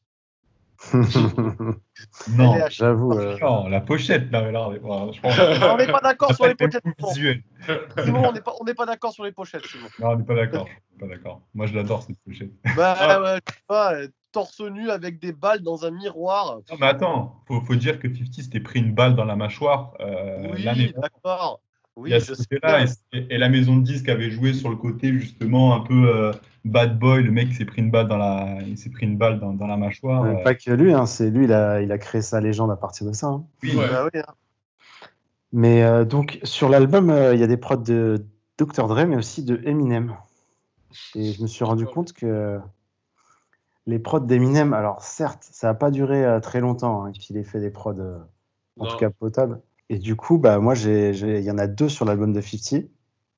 Speaker 5: Non,
Speaker 4: Elle est à chier
Speaker 3: J'avoue.
Speaker 4: par
Speaker 3: euh,
Speaker 4: terre.
Speaker 5: non, la pochette, là, là, là, je pense.
Speaker 4: On n'est pas d'accord sur les pochettes. Simon.
Speaker 5: Visuel.
Speaker 4: Simon, on n'est pas, on n'est pas d'accord sur les pochettes, Simon.
Speaker 5: Non, on n'est pas d'accord. On n'est pas d'accord. Moi, je l'adore, cette pochette.
Speaker 4: Bah,
Speaker 6: Ah.
Speaker 4: ouais, je sais pas, euh, torse nu avec des balles dans un miroir.
Speaker 5: Non, mais attends, faut, faut dire que cinquante s'était pris une balle dans la mâchoire euh, l'année
Speaker 4: Oui, d'accord. Oui,
Speaker 5: Il y a
Speaker 4: je
Speaker 5: ce
Speaker 4: sais
Speaker 5: côté-là,
Speaker 4: bien.
Speaker 5: et, et la maison de disques avait joué sur le côté justement un peu euh, bad boy, le mec il s'est pris une balle dans la, il s'est pris une balle dans, dans la mâchoire.
Speaker 3: Ouais,
Speaker 5: euh,
Speaker 3: Pas que lui, hein, c'est lui, il a, il a créé sa légende à partir de ça. hein.
Speaker 5: oui,
Speaker 6: Ouais.
Speaker 4: Bah oui, hein.
Speaker 3: Mais euh, donc, sur l'album, euh, il y a des prods de docteur Dre, mais aussi de Eminem. Et je me suis rendu compte que les prods d'Eminem, alors certes, ça n'a pas duré euh, très longtemps hein, qu'il ait fait des prods, euh, en
Speaker 6: Non.
Speaker 3: tout cas potables. Et du coup, bah, moi, j'ai, j'ai- il y en a deux sur l'album de cinquante.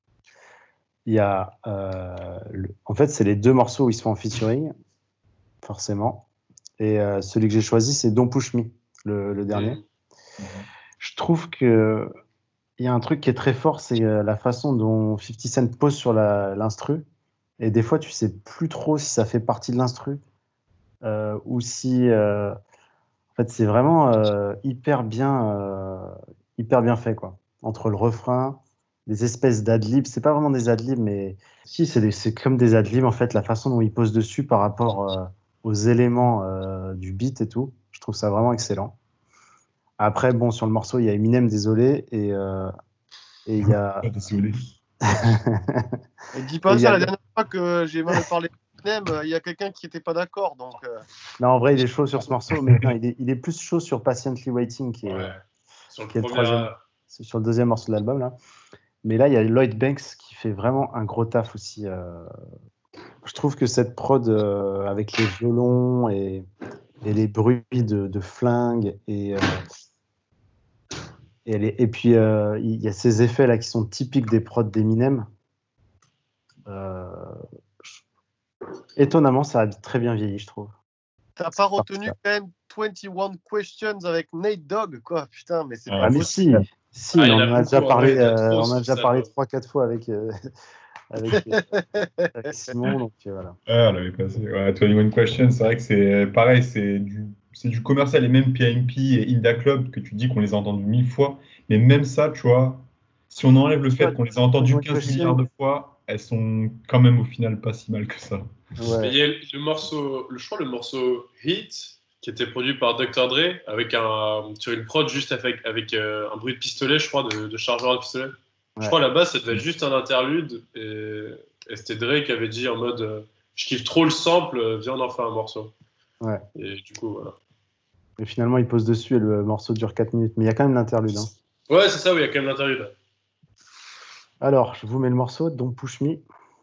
Speaker 3: Il y a, euh, le- en fait, c'est les deux morceaux où ils sont en featuring, forcément. Et euh, celui que j'ai choisi, c'est Don't Push Me, le, le dernier.
Speaker 6: Mhm.
Speaker 3: Je trouve que il y a un truc qui est très fort, c'est euh, la façon dont cinquante Cent pose sur la- l'instru. Et des fois, tu sais plus trop si ça fait partie de l'instru euh, ou si. euh, en fait, c'est vraiment euh, hyper bien, euh, hyper bien fait, quoi. Entre le refrain, des espèces d'adlibs. C'est pas vraiment des adlibs, mais si, c'est des- c'est comme des adlibs en fait. La façon dont il pose dessus par rapport euh, aux éléments euh, du beat et tout. Je trouve ça vraiment excellent. Après, bon, sur le morceau, il y a Eminem, désolé, et euh, et il y a.
Speaker 5: pas désolé.
Speaker 4: Et dis pas
Speaker 3: Et il y
Speaker 4: ça,
Speaker 3: a
Speaker 4: la
Speaker 3: le-
Speaker 4: dernière fois que j'ai mal parlé de Eminem, euh, il y a quelqu'un qui n'était pas d'accord. Donc, euh,
Speaker 3: Non, en vrai, il est chaud sur ce morceau, mais non, il, est, il est plus chaud sur Patiently Waiting, qui est,
Speaker 6: Ouais. Sur le
Speaker 3: qui est le
Speaker 6: premier.
Speaker 3: troisième, c'est sur le deuxième morceau de l'album, là. Mais là, il y a Lloyd Banks qui fait vraiment un gros taf aussi. euh. Je trouve que cette prod, euh, avec les violons et, et les bruits de, de flingues, et, euh, et, les- et puis euh, il y a ces effets-là qui sont typiques des prods d'Eminem. Euh, je- Étonnamment, ça a très bien vieilli, je trouve.
Speaker 4: t'as pas retenu quand même vingt et un Questions avec Nate Dogg, quoi. Putain, mais c'est
Speaker 5: Ah,
Speaker 4: pas
Speaker 3: Ah mais
Speaker 4: possible.
Speaker 3: si, si,
Speaker 6: Ah, il y
Speaker 3: on
Speaker 6: en a
Speaker 3: en a
Speaker 6: beaucoup,
Speaker 3: déjà
Speaker 6: en
Speaker 3: parlé,
Speaker 6: vrai, il y en a
Speaker 3: euh,
Speaker 6: trop
Speaker 3: on
Speaker 6: sur
Speaker 3: a déjà
Speaker 6: ça,
Speaker 3: parlé
Speaker 6: quoi.
Speaker 3: trois quatre fois avec, euh, avec, euh, avec Simon, donc euh, voilà.
Speaker 5: Ouais, on l'avait passé. Ouais, vingt et un Questions, c'est vrai que c'est pareil, c'est du, c'est du commercial, et même P I M P et Inda Club, que tu dis qu'on les a entendus mille fois, mais même ça, tu vois, si on enlève le fait qu'on les a entendus
Speaker 3: vingt et un
Speaker 5: quinze milliards de fois, elles sont quand même au final pas si mal que ça.
Speaker 6: Mais
Speaker 3: Ouais.
Speaker 6: il y a le morceau, le, je crois le morceau Heat, qui était produit par docteur Dre, avec un, sur une prod juste avec, avec euh, un bruit de pistolet, je crois, de, de chargeur de pistolet. Je
Speaker 3: Ouais.
Speaker 6: crois là-bas, ça devait être juste un interlude, et, et c'était Dre qui avait dit en mode euh, je kiffe trop le sample, euh, viens on en fait un morceau.
Speaker 3: Ouais.
Speaker 6: Et du coup, voilà.
Speaker 3: Et finalement, il pose dessus et le morceau dure quatre minutes, mais il y a quand même l'interlude. Hein.
Speaker 6: Ouais, c'est ça, oui, il y a quand même l'interlude.
Speaker 3: Alors, je vous mets le morceau, Don't Push Me.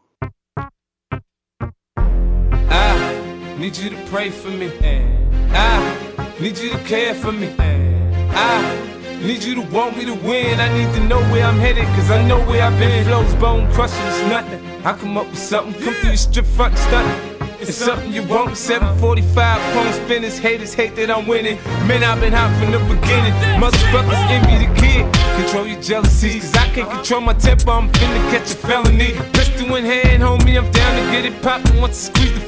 Speaker 17: I need you to pray for me. I need you to care for me. I need you to want me to win. I need to know where I'm headed, cause I know where I've been. Flows, bone crushing, it's nothing. I come up with something, come through the strip front and stunting. It's something you want. seven forty-five, chrome spinners, haters hate that I'm winning. Man, I've been hot from the beginning. Motherfuckers envy the kid. Control your jealousies, cause I can't control my temper. I'm finna catch a felony. Pistol in hand, homie, I'm down to get it poppin' once I squeeze the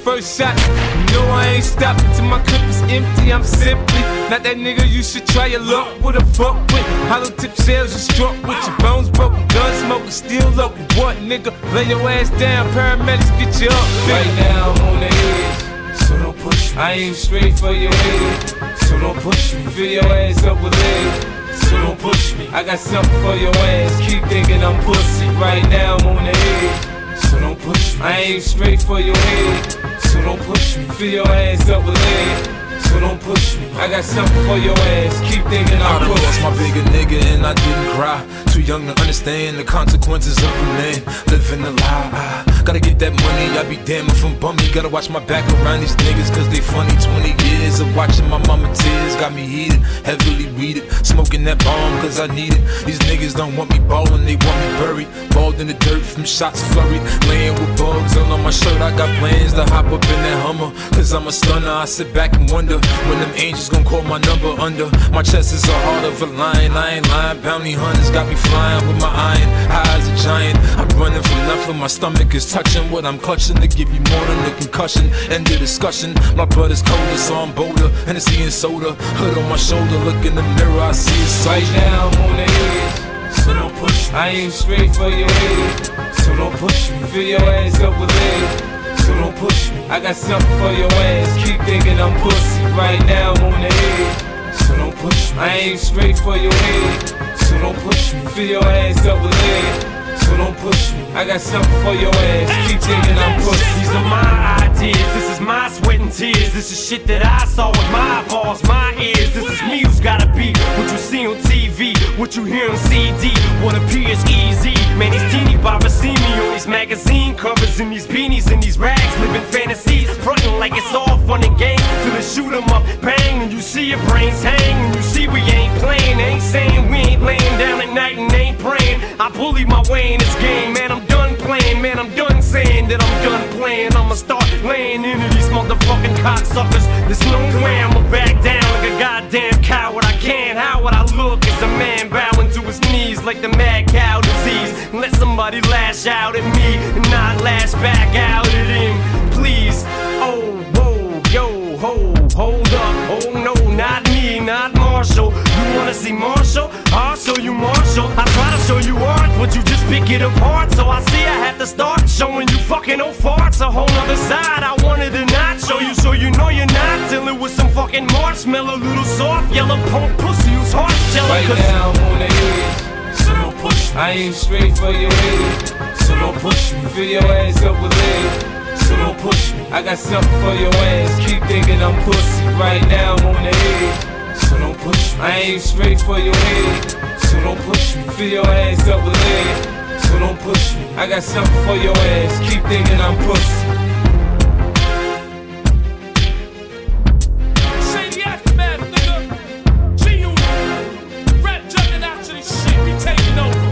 Speaker 17: first shot. You know I ain't stopping till my clip is empty. I'm simply not that nigga you should try your luck with a fuck with. Hollow tip shells you struck with your bones broken, gun smoking, still local. What nigga? Lay your ass down, paramedics get you up. Right now I'm on the edge, so don't push me. I aim straight for your head, so don't push me. Fill your ass up with lead, so don't push me. I got something for your ass, keep thinking I'm pussy. Right now I'm on the edge, so don't push me. I aim straight for your head, so don't push me. Fill your ass up with lead, so don't push me. I got something for your ass, keep thinking I'm
Speaker 20: I done
Speaker 17: pussy.
Speaker 20: lost my bigger nigga and I didn't cry. Too young to understand the consequences of a man living a lie. I gotta get that money, I be damn if I'm bummy. Gotta watch my back around these niggas cause they funny. Twenty years of watching my mama tears got me heated, heavily weeded. Smoking that bomb cause I need it. These niggas don't want me ballin', they want me buried. Balled in the dirt from shots flurried. Laying with bugs all on my shirt. I got plans to hop up in that Hummer cause I'm a stunner. I sit back and wonder when them angels gon' call my number under. My chest is a heart of a lion, I ain't lying. Bounty hunters got me flying with my iron, high as a giant. I'm running from nothing, my stomach is touching what I'm clutching to give you more than a concussion. End of discussion, my blood is colder, so I'm bolder. Hennessy and soda, hood on my shoulder. Look in the mirror, I see a soldier.
Speaker 17: Right now I'm on the edge, so don't push me. I aim straight for your head, so don't push me. Fill your ass up with lead, so don't push me. I got something for your ass, keep thinking I'm pussy. Right now I'm on the edge, so don't push me. I aim straight for your head, so don't push me. Fill your ass up with lead, so don't push me. I got something for your ass, keep thinking I'm pussy.
Speaker 21: These are my ideas, this is my sweat and tears. This is shit that I saw with my eyeballs, my ears. This is me who's gotta be what you see on T V, what you hear on C D, what appears easy. Man, these teeny boppers see me on these magazine covers, in these beanies, in these rags, living fantasies, frontin' like it's all fun and games till they shoot 'em up, bang, and you see your brains hang, and you see we ain't playing. Ain't saying we ain't laying down at night and ain't praying. I bully my way in this game, man. I'm done playing, man. I'm done saying that I'm done playing. I'ma start laying into these motherfucking cocksuckers. There's no way I'ma back down like a goddamn coward. I can't. How would I look as a man bowing to his knees like the mad cow disease? Let somebody lash out at me and not lash back out at him, please. Oh, whoa, yo, ho, hold up. Oh no, not me, not Marshall. You wanna see Marshall? I'll show you Marshall. I try to show you art, but you just pick it apart. So I see I have to start showing you fucking old farts. A whole nother side I wanted to not show you, so you know you're not dealing with some fucking marshmallow, little soft yellow punk pussy whose heart's jello.
Speaker 17: Right now I'm on the edge, so don't push me. I aim straight for your head, so don't push me. Fill your ass up with lead, so don't push me. I got something for your ass, keep thinking I'm pussy. Right now I'm on the edge, so don't push me. I aim straight for your head, so don't push me. Fill your ass up with lead, so don't push me. I got something for your ass, keep thinking I'm pussy.
Speaker 21: Say the aftermath, nigga. G-Unit. Rap jumping out to this shit, we taking over.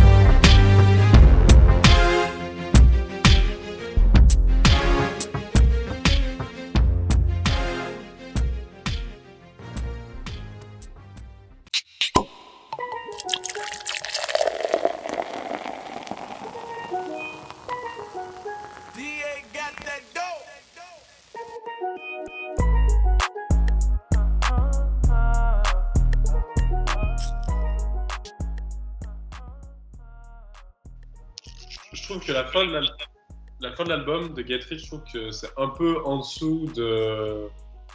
Speaker 6: Je trouve que la fin de l'al- la fin de l'album de Get Rich, je trouve que c'est un peu en dessous de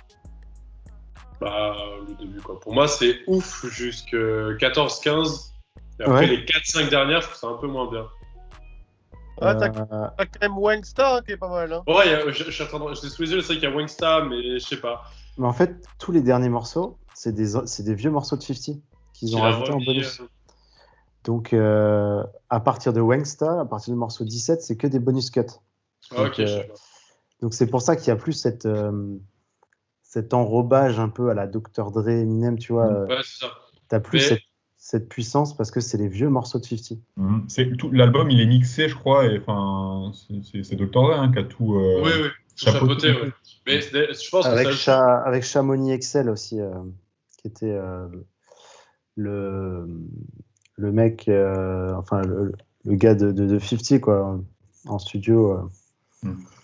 Speaker 6: bah, le début, quoi. Pour moi, c'est ouf jusque quatorze quinze. Et après,
Speaker 3: Ouais.
Speaker 6: les quatre cinq dernières, je trouve ça un peu moins bien.
Speaker 4: Ah, t'as
Speaker 3: Euh,
Speaker 4: t'as quand même Wangsta hein, qui est pas mal. Hein.
Speaker 6: Ouais, y a- je, je suis en train de. Je l'ai sous les yeux, c'est vrai qu'il y a Wangsta, mais je sais pas.
Speaker 3: Mais en fait, tous les derniers morceaux, c'est des, c'est des vieux morceaux de cinquante qu'ils ont
Speaker 6: Qu'il a
Speaker 3: rajoutés en
Speaker 6: remis,
Speaker 3: bonus.
Speaker 6: euh,
Speaker 3: Donc, euh, à partir de Wangsta, à partir du morceau dix-sept, c'est que des bonus cuts.
Speaker 6: Ah,
Speaker 3: Donc,
Speaker 6: ok, je
Speaker 3: euh,
Speaker 6: sais pas.
Speaker 3: donc c'est pour ça qu'il y a plus cette, euh, cet enrobage un peu à la docteur Dre, Eminem, tu vois.
Speaker 6: Ouais, c'est ça.
Speaker 3: T'as plus
Speaker 6: Mais-
Speaker 3: cette, cette puissance parce que c'est les vieux morceaux de cinquante.
Speaker 5: Mhm. C'est tout l'album, il est mixé, je crois, et enfin, c'est- c'est c'est docteur Dre hein, qui a tout. euh,
Speaker 6: Oui, oui, tout chapeauté, ouais. Mais c'est- je pense
Speaker 3: Avec,
Speaker 6: que ça.
Speaker 3: Cha- avec Chamonix Excel aussi, euh, qui était euh, le, le mec, euh, enfin le, le gars de, de, de cinquante, quoi, en studio. euh.
Speaker 5: Mm.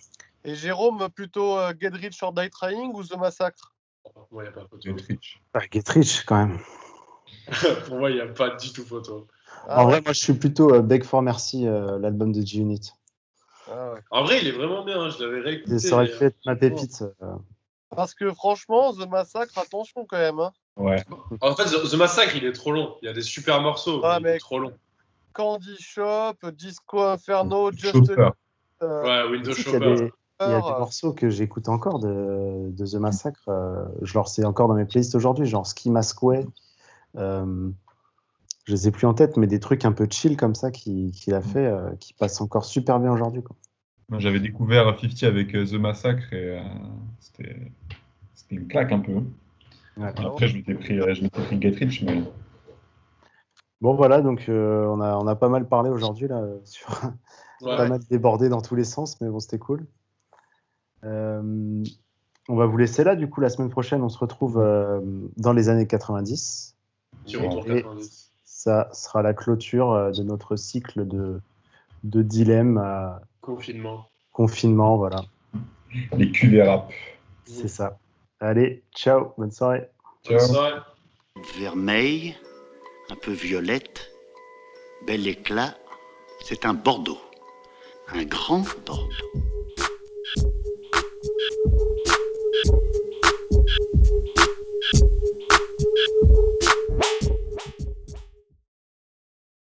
Speaker 4: Et Jérôme, plutôt euh, Get Rich or Die Trying ou The Massacre?
Speaker 6: Pour moi, il n'y a pas photo.
Speaker 5: Get Rich.
Speaker 3: Ah, Get Rich, quand même.
Speaker 6: Pour moi, il n'y a pas du tout photo.
Speaker 4: Ah
Speaker 3: en
Speaker 4: ouais.
Speaker 3: vrai, moi, je suis plutôt euh, Beg for Mercy, euh, l'album de G-Unit.
Speaker 4: Ah ouais.
Speaker 6: En vrai, il est vraiment bien, je l'avais réécouté.
Speaker 3: Ça aurait
Speaker 6: mais,
Speaker 3: pu être ma
Speaker 6: euh,
Speaker 3: pépite. euh.
Speaker 4: Parce que franchement, The Massacre, attention quand même. Hein.
Speaker 5: Ouais.
Speaker 6: En fait, The, The Massacre, il est trop long. Il y a des super morceaux,
Speaker 4: Ah,
Speaker 6: mais il est
Speaker 4: mais-
Speaker 6: trop long.
Speaker 4: Candy Shop, Disco Inferno, Just
Speaker 5: Chauffeur.
Speaker 4: euh,
Speaker 6: Ouais, Windows
Speaker 3: Tu sais qu'il y a
Speaker 6: Shopper.
Speaker 3: des, il y a des
Speaker 4: euh,
Speaker 3: morceaux que j'écoute encore de, de The Massacre. euh, je leur sais encore dans mes playlists aujourd'hui, genre Ski Mask Way. Euh, je les ai plus en tête, mais des trucs un peu chill comme ça qu'il qu'il a fait, euh, qui passent encore super bien aujourd'hui, quoi.
Speaker 5: Moi, j'avais découvert cinquante avec euh, The Massacre et euh, c'était c'était une claque un peu.
Speaker 3: Ouais.
Speaker 5: Après, je m'étais pris, euh, je m'étais pris Get Rich, mais
Speaker 3: Bon, voilà, donc euh, on, a, on a pas mal parlé aujourd'hui, là, euh, sur
Speaker 6: Ouais.
Speaker 3: pas mal débordé dans tous les sens, mais bon, c'était cool. Euh, on va vous laisser là, du coup, la semaine prochaine, on se retrouve euh, dans les années quatre-vingt-dix.
Speaker 6: Petit retour
Speaker 3: Et
Speaker 6: quatre-vingt-dix.
Speaker 3: ça sera la clôture euh, de notre cycle de, de dilemmes à
Speaker 6: Confinement.
Speaker 3: confinement, voilà.
Speaker 5: les Q V rap.
Speaker 3: C'est ça. Allez, ciao, bonne soirée.
Speaker 6: Bonne soirée.
Speaker 1: Vermeil, un peu violette, bel éclat, c'est un Bordeaux, un grand Bordeaux.